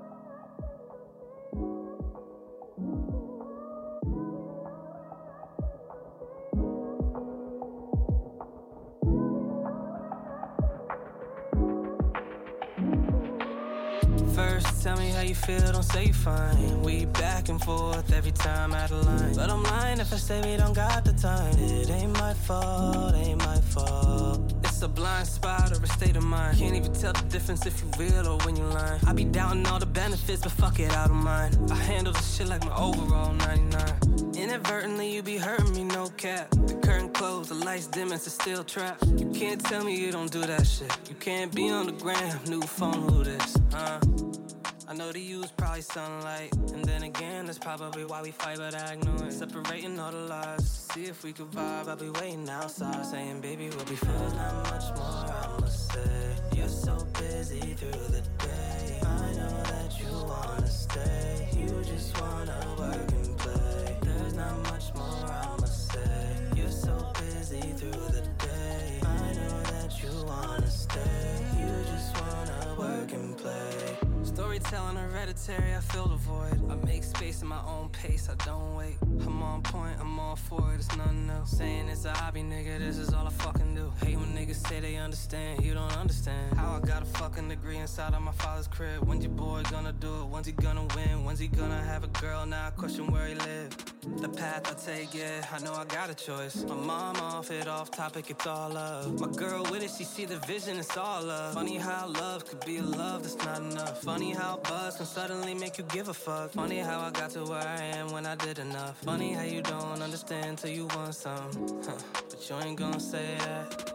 tell me how you feel, don't say you fine. We back and forth every time out of line. But I'm lying if I say we don't got the time. It ain't my fault, ain't my fault. It's a blind spot or a state of mind. Can't even tell the difference if you real or when you lying. I be doubting all the benefits, but fuck it, I don't mind. I handle this shit like my overall ninety-nine. Inadvertently, you be hurting me, no cap. The curtain closed, the lights dim, it's a steel trap. You can't tell me you don't do that shit. You can't be on the gram, new phone, who this, huh? I know to use probably sunlight. And then again, that's probably why we fight, but I ignore it. Separating all the lies, see if we could vibe. I'll be waiting outside, saying, baby, we'll be fine. There's not much more I must say. You're so busy through the day. I know that you wanna stay. You just wanna work and play. There's not much more I must say. You're so busy through the day. I know that you wanna stay. You just wanna work and play. Storytelling hereditary, I fill the void. I make space in my own pace, I don't wait. I'm on point, I'm all for it, it's nothing else. Saying it's a hobby, nigga, this is all I fucking do. Hate when niggas say they understand, you don't understand. How I got a fucking degree inside of my father's crib. When's your boy gonna do it? When's he gonna win? When's he gonna have a girl? Now I question where he live. The path I take, yeah, I know I got a choice. My mom off it, off topic, it's all love. My girl with it, she see the vision, it's all love. Funny how love could be a love that's not enough. Funny how buzz can suddenly make you give a fuck. Funny how I got to where I am when I did enough. Funny how you don't understand till you want some, huh. But you ain't gonna say that.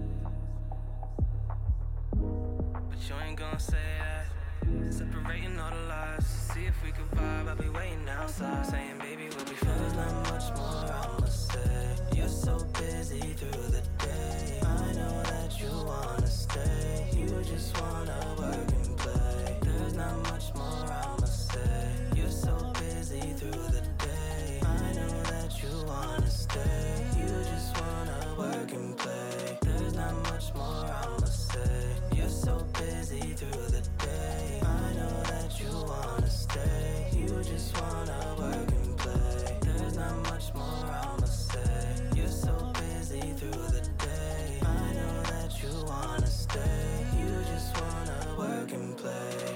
But you ain't gonna say that. Separating all the lies, see if we could vibe. I'll be waiting outside, saying, baby, we'll be fine. There's not much more I must say. You're so busy through the day. I know that you wanna stay. You just wanna work and play. There's not much more I must say. You're so busy through the day. I know that you wanna stay. You just wanna work and play. There's not much more I must say. You're so busy through the day. I know that you wanna stay. You just wanna work and play. There's not much more I must say. You're so busy through the day. I know that you wanna stay. You just wanna work and play.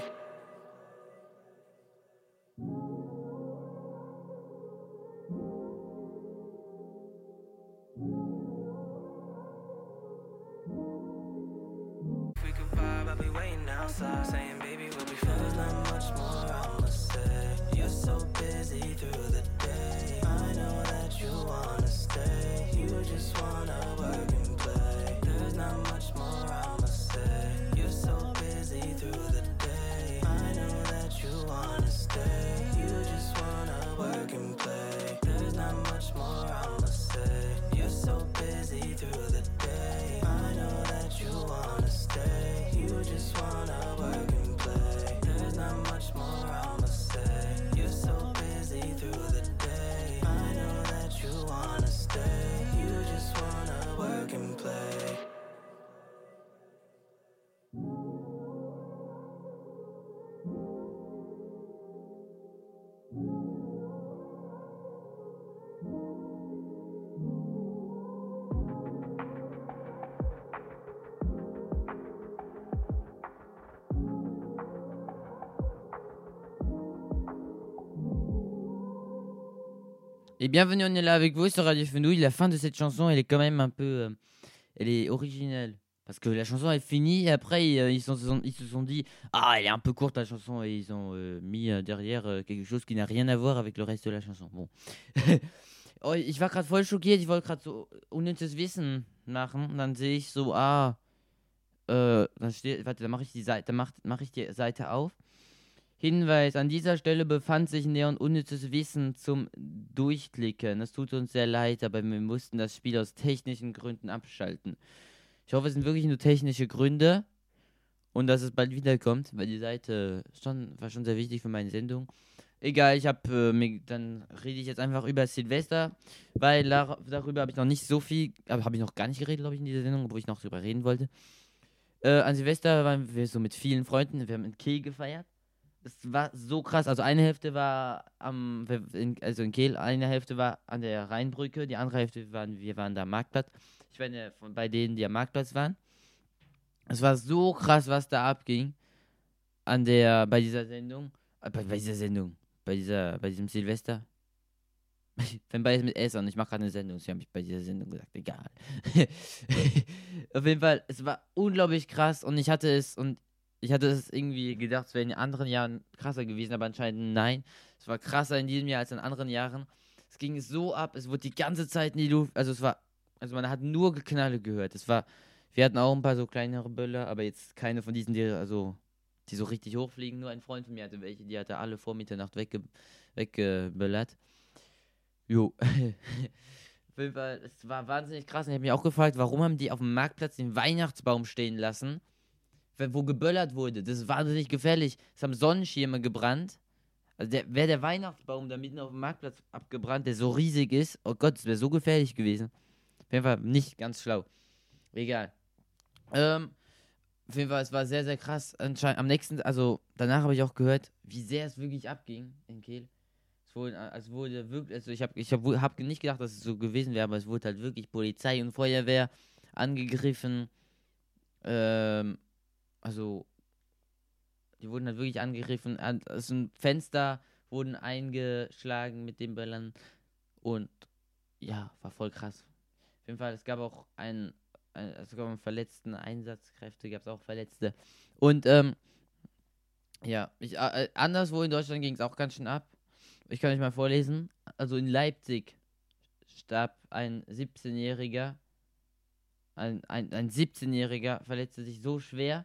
If we could vibe, I'll be waiting outside, saying, baby, we'll be fine. There's not much more I must say. You're so busy through the day. I know that you wanna stay. You just wanna work and play. There's not much more I must say. You're so busy through the day. I know that you wanna stay. You just wanna work and play. There's not much more I must say. You're so busy through the day. I know that you wanna stay. You just wanna work and play. There's not much more I must say. You're so busy through the day. I know that you wanna stay. You just wanna work and play. Et bienvenue, on est là avec vous sur Radio Fenouil. La fin de cette chanson, elle est quand même un peu... euh, elle est originale. Parce que la chanson est finie et après, ils, euh, ils, sont- se sont, ils se sont dit « Ah, elle est un peu courte la chanson » et ils ont euh, mis euh, derrière euh, quelque chose qui n'a rien à voir avec le reste de la chanson. Bon. Oh, ich war gerade voll schockiert. Ich wollte gerade so unnützes Wissen machen. Dann sehe ich so, ah, äh, dann steht, warte, dann mache ich die Seite, dann mach, mach ich die Seite auf. Hinweis, an dieser Stelle befand sich näher und unnützes Wissen zum Durchklicken. Es tut uns sehr leid, aber wir mussten das Spiel aus technischen Gründen abschalten. Ich hoffe, es sind wirklich nur technische Gründe und dass es bald wiederkommt, weil die Seite schon, war schon sehr wichtig für meine Sendung. Egal, ich habe, äh, mir- dann rede ich jetzt einfach über Silvester, weil dar darüber habe ich noch nicht so viel, aber habe ich noch gar nicht geredet, glaube ich, in dieser Sendung, wo ich noch drüber reden wollte. Äh, an Silvester waren wir so mit vielen Freunden, wir haben in Kehl gefeiert. Es war so krass. Also eine Hälfte war am, in, also in Kehl, eine Hälfte war an der Rheinbrücke, die andere Hälfte waren, wir waren da am Marktplatz. Ich war ja von bei denen, die am Marktplatz waren. Es war so krass, was da abging. an der, bei dieser Sendung, äh, bei, bei dieser Sendung, bei dieser, bei diesem Silvester. Wenn beides mit S und ich mache gerade eine Sendung, sie haben mich bei dieser Sendung gesagt, egal. Auf jeden Fall, es war unglaublich krass und ich hatte es und ich hatte es irgendwie gedacht, es wäre in anderen Jahren krasser gewesen, aber anscheinend nein. Es war krasser in diesem Jahr als in anderen Jahren. Es ging so ab, es wurde die ganze Zeit in die Luft, also es war, also man hat nur Geknalle gehört. Es war, wir hatten auch ein paar so kleinere Böller, aber jetzt keine von diesen, die, also, die so richtig hochfliegen. Nur ein Freund von mir hatte welche, die hatte alle vor Mitternacht wegge weggeböllert. Jo. Auf jeden Fall, es war wahnsinnig krass und ich habe mich auch gefragt, warum haben die auf dem Marktplatz den Weihnachtsbaum stehen lassen, wo geböllert wurde. Das ist wahnsinnig gefährlich. Es haben Sonnenschirme gebrannt. Also der, wäre der Weihnachtsbaum da mitten auf dem Marktplatz abgebrannt, der so riesig ist, oh Gott, das wäre so gefährlich gewesen. Auf jeden Fall nicht ganz schlau. Egal. Ähm, auf jeden Fall, es war sehr, sehr krass. Anscheinend am nächsten, also danach habe ich auch gehört, wie sehr es wirklich abging in Kehl. Es wurde, es wurde wirklich, also ich habe ich hab, hab nicht gedacht, dass es so gewesen wäre, aber es wurde halt wirklich Polizei und Feuerwehr angegriffen. Ähm, also, die wurden halt wirklich angegriffen. Also Fenster wurden eingeschlagen mit den Böllern. Und ja, war voll krass. Auf jeden Fall, es gab auch einen, ein, es gab einen verletzten Einsatzkräfte, gab es auch Verletzte. Und ähm, ja, ich, äh, anderswo in Deutschland ging es auch ganz schön ab. Ich kann euch mal vorlesen. Also in Leipzig starb ein siebzehnjähriger. Ein, ein, ein siebzehnjähriger verletzte sich so schwer.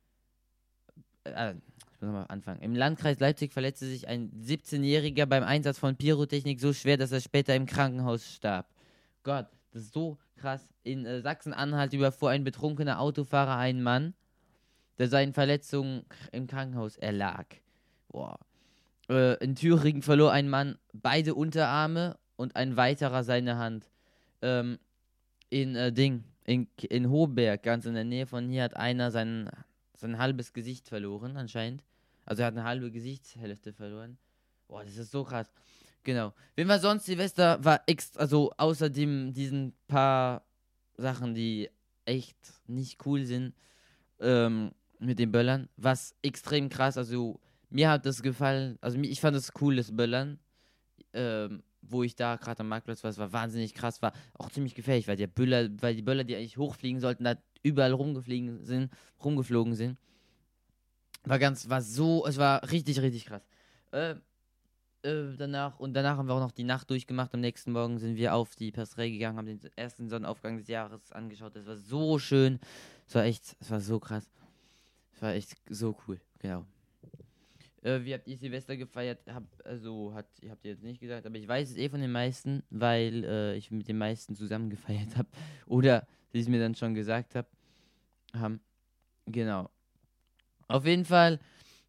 Äh, ich muss nochmal anfangen. Im Landkreis Leipzig verletzte sich ein siebzehnjähriger beim Einsatz von Pyrotechnik so schwer, dass er später im Krankenhaus starb. Gott, das ist so krass. In äh, Sachsen-Anhalt überfuhr ein betrunkener Autofahrer einen Mann, der seinen Verletzungen im Krankenhaus erlag. Boah. Äh, in Thüringen verlor ein Mann beide Unterarme und ein weiterer seine Hand. Ähm, in äh, Ding, in, in Hohberg, ganz in der Nähe von hier, hat einer sein, sein halbes Gesicht verloren, anscheinend. Also er hat eine halbe Gesichtshälfte verloren. Boah, das ist so krass. Genau. Wenn wir sonst, Silvester war extra, also außerdem diesen paar Sachen, die echt nicht cool sind, ähm, mit den Böllern, was extrem krass, also mir hat das gefallen, also ich fand es cool, das Böllern, ähm, wo ich da gerade am Marktplatz war, es war wahnsinnig krass, war auch ziemlich gefährlich, weil die Böller, weil die Böller, die eigentlich hochfliegen sollten, da überall rumgeflogen sind, rumgeflogen sind. War ganz, war so, es war richtig, richtig krass. Äh, äh, danach, und danach haben wir auch noch die Nacht durchgemacht. Am nächsten Morgen sind wir auf die Pastrelle gegangen, haben den ersten Sonnenaufgang des Jahres angeschaut. Das war so schön. Es war echt, es war so krass. Es war echt so cool, genau. Äh, wie habt ihr Silvester gefeiert? Hab, also, hat, ihr habt ihr jetzt nicht gesagt, aber ich weiß es eh von den meisten, weil äh, ich mit den meisten zusammen gefeiert habe. Oder sie es mir dann schon gesagt hab, haben. Genau. Auf jeden Fall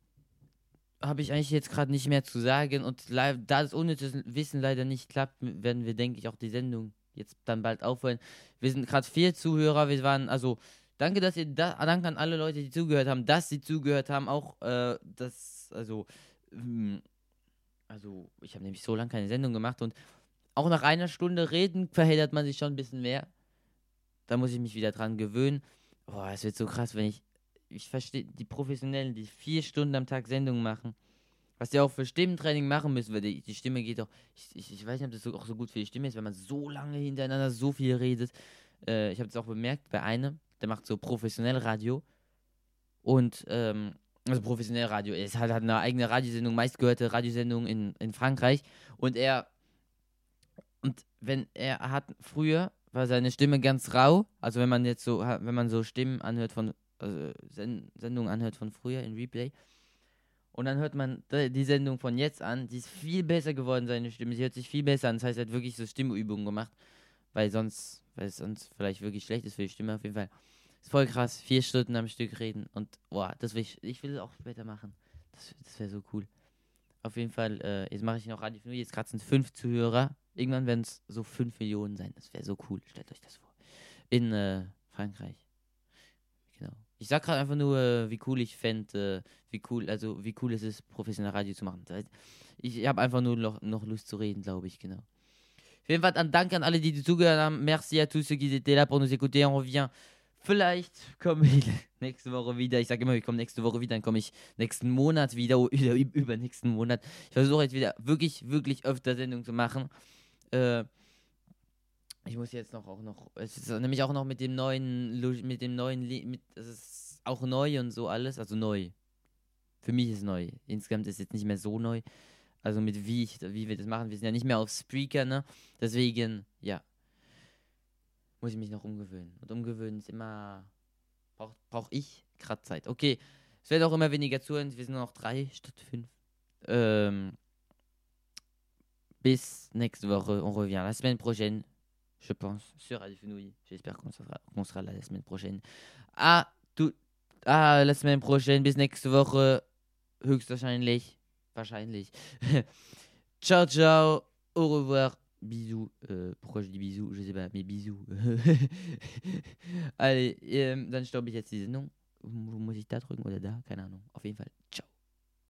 habe ich eigentlich jetzt gerade nicht mehr zu sagen und da das unnützes Wissen leider nicht klappt, werden wir, denke ich, auch die Sendung jetzt dann bald aufhören. Wir sind gerade vier Zuhörer, wir waren, also danke, dass ihr, da, danke an alle Leute, die zugehört haben, dass sie zugehört haben, auch äh, das, also, ähm, also ich habe nämlich so lange keine Sendung gemacht und auch nach einer Stunde reden verheddert man sich schon ein bisschen mehr. Da muss ich mich wieder dran gewöhnen. Boah, es wird so krass, wenn ich Ich verstehe die Professionellen, die vier Stunden am Tag Sendungen machen, was die auch für Stimmentraining machen müssen, weil die, die Stimme geht auch, ich, ich, ich weiß nicht, ob das so, auch so gut für die Stimme ist, wenn man so lange hintereinander so viel redet. Äh, ich habe das auch bemerkt bei einem, der macht so professionell Radio und, ähm, also professionell Radio, er hat, hat eine eigene Radiosendung, meistgehörte Radiosendung in, in Frankreich und er, und wenn er hat, früher war seine Stimme ganz rau, also wenn man jetzt so, wenn man so Stimmen anhört von also Send Sendung anhört von früher in Replay. Und dann hört man die Sendung von jetzt an, die ist viel besser geworden, seine Stimme. Sie hört sich viel besser an. Das heißt, er hat wirklich so Stimmübungen gemacht, weil sonst, weil es sonst vielleicht wirklich schlecht ist für die Stimme. Auf jeden Fall ist voll krass, vier Stunden am Stück reden und boah, das will ich, ich will es auch später machen. Das, das wäre so cool. Auf jeden Fall, äh, jetzt mache ich noch Radio Fnui, jetzt gerade sind es fünf Zuhörer. Irgendwann werden es so fünf Millionen sein. Das wäre so cool. Stellt euch das vor. In äh, Frankreich. Genau. Ich sag gerade einfach nur, äh, wie cool ich fände, äh, wie cool, also wie cool es ist, professionell Radio zu machen. Das heißt, ich habe einfach nur noch, noch Lust zu reden, glaube ich, genau. Auf jeden Fall, un danke an alle, die zugehört haben. Merci à tous ceux qui étaient là pour nous écouter. On revient Vielleicht komme ich nächste Woche wieder. Ich sage immer, ich komme nächste Woche wieder, dann komme ich nächsten Monat wieder oder übernächsten Monat. Ich versuche jetzt wieder wirklich, wirklich öfter Sendungen zu machen. Äh, ich muss jetzt noch auch noch, es ist nämlich auch noch mit dem neuen, mit dem neuen, mit, es ist auch neu und so alles, also neu. Für mich ist es neu. Insgesamt ist es jetzt nicht mehr so neu. Also mit wie ich, wie wir das machen. Wir sind ja nicht mehr auf Spreaker, ne? Deswegen, ja. Muss ich mich noch umgewöhnen. Und umgewöhnen ist immer. Brauche brauch ich gerade Zeit. Okay. Es wird auch immer weniger zuhören. Wir sind nur noch drei statt fünf. Ähm, bis nächste Woche. On revient la semaine prochaine. Je pense. Sur Radio Fenouille. J'espère qu'on sera, qu'on sera là la semaine prochaine. Ah, tout. Ah, la semaine prochaine. Bis nächste Woche. Höchstwahrscheinlich. Wahrscheinlich. Ciao, ciao. Au revoir. Bisous. Euh, pourquoi je dis bisous? Je sais pas, mais bisous. Allez, ähm, dann stoppe ich jetzt diese Sendung. Muss ich da drücken oder da? Keine Ahnung. Auf jeden Fall. Ciao.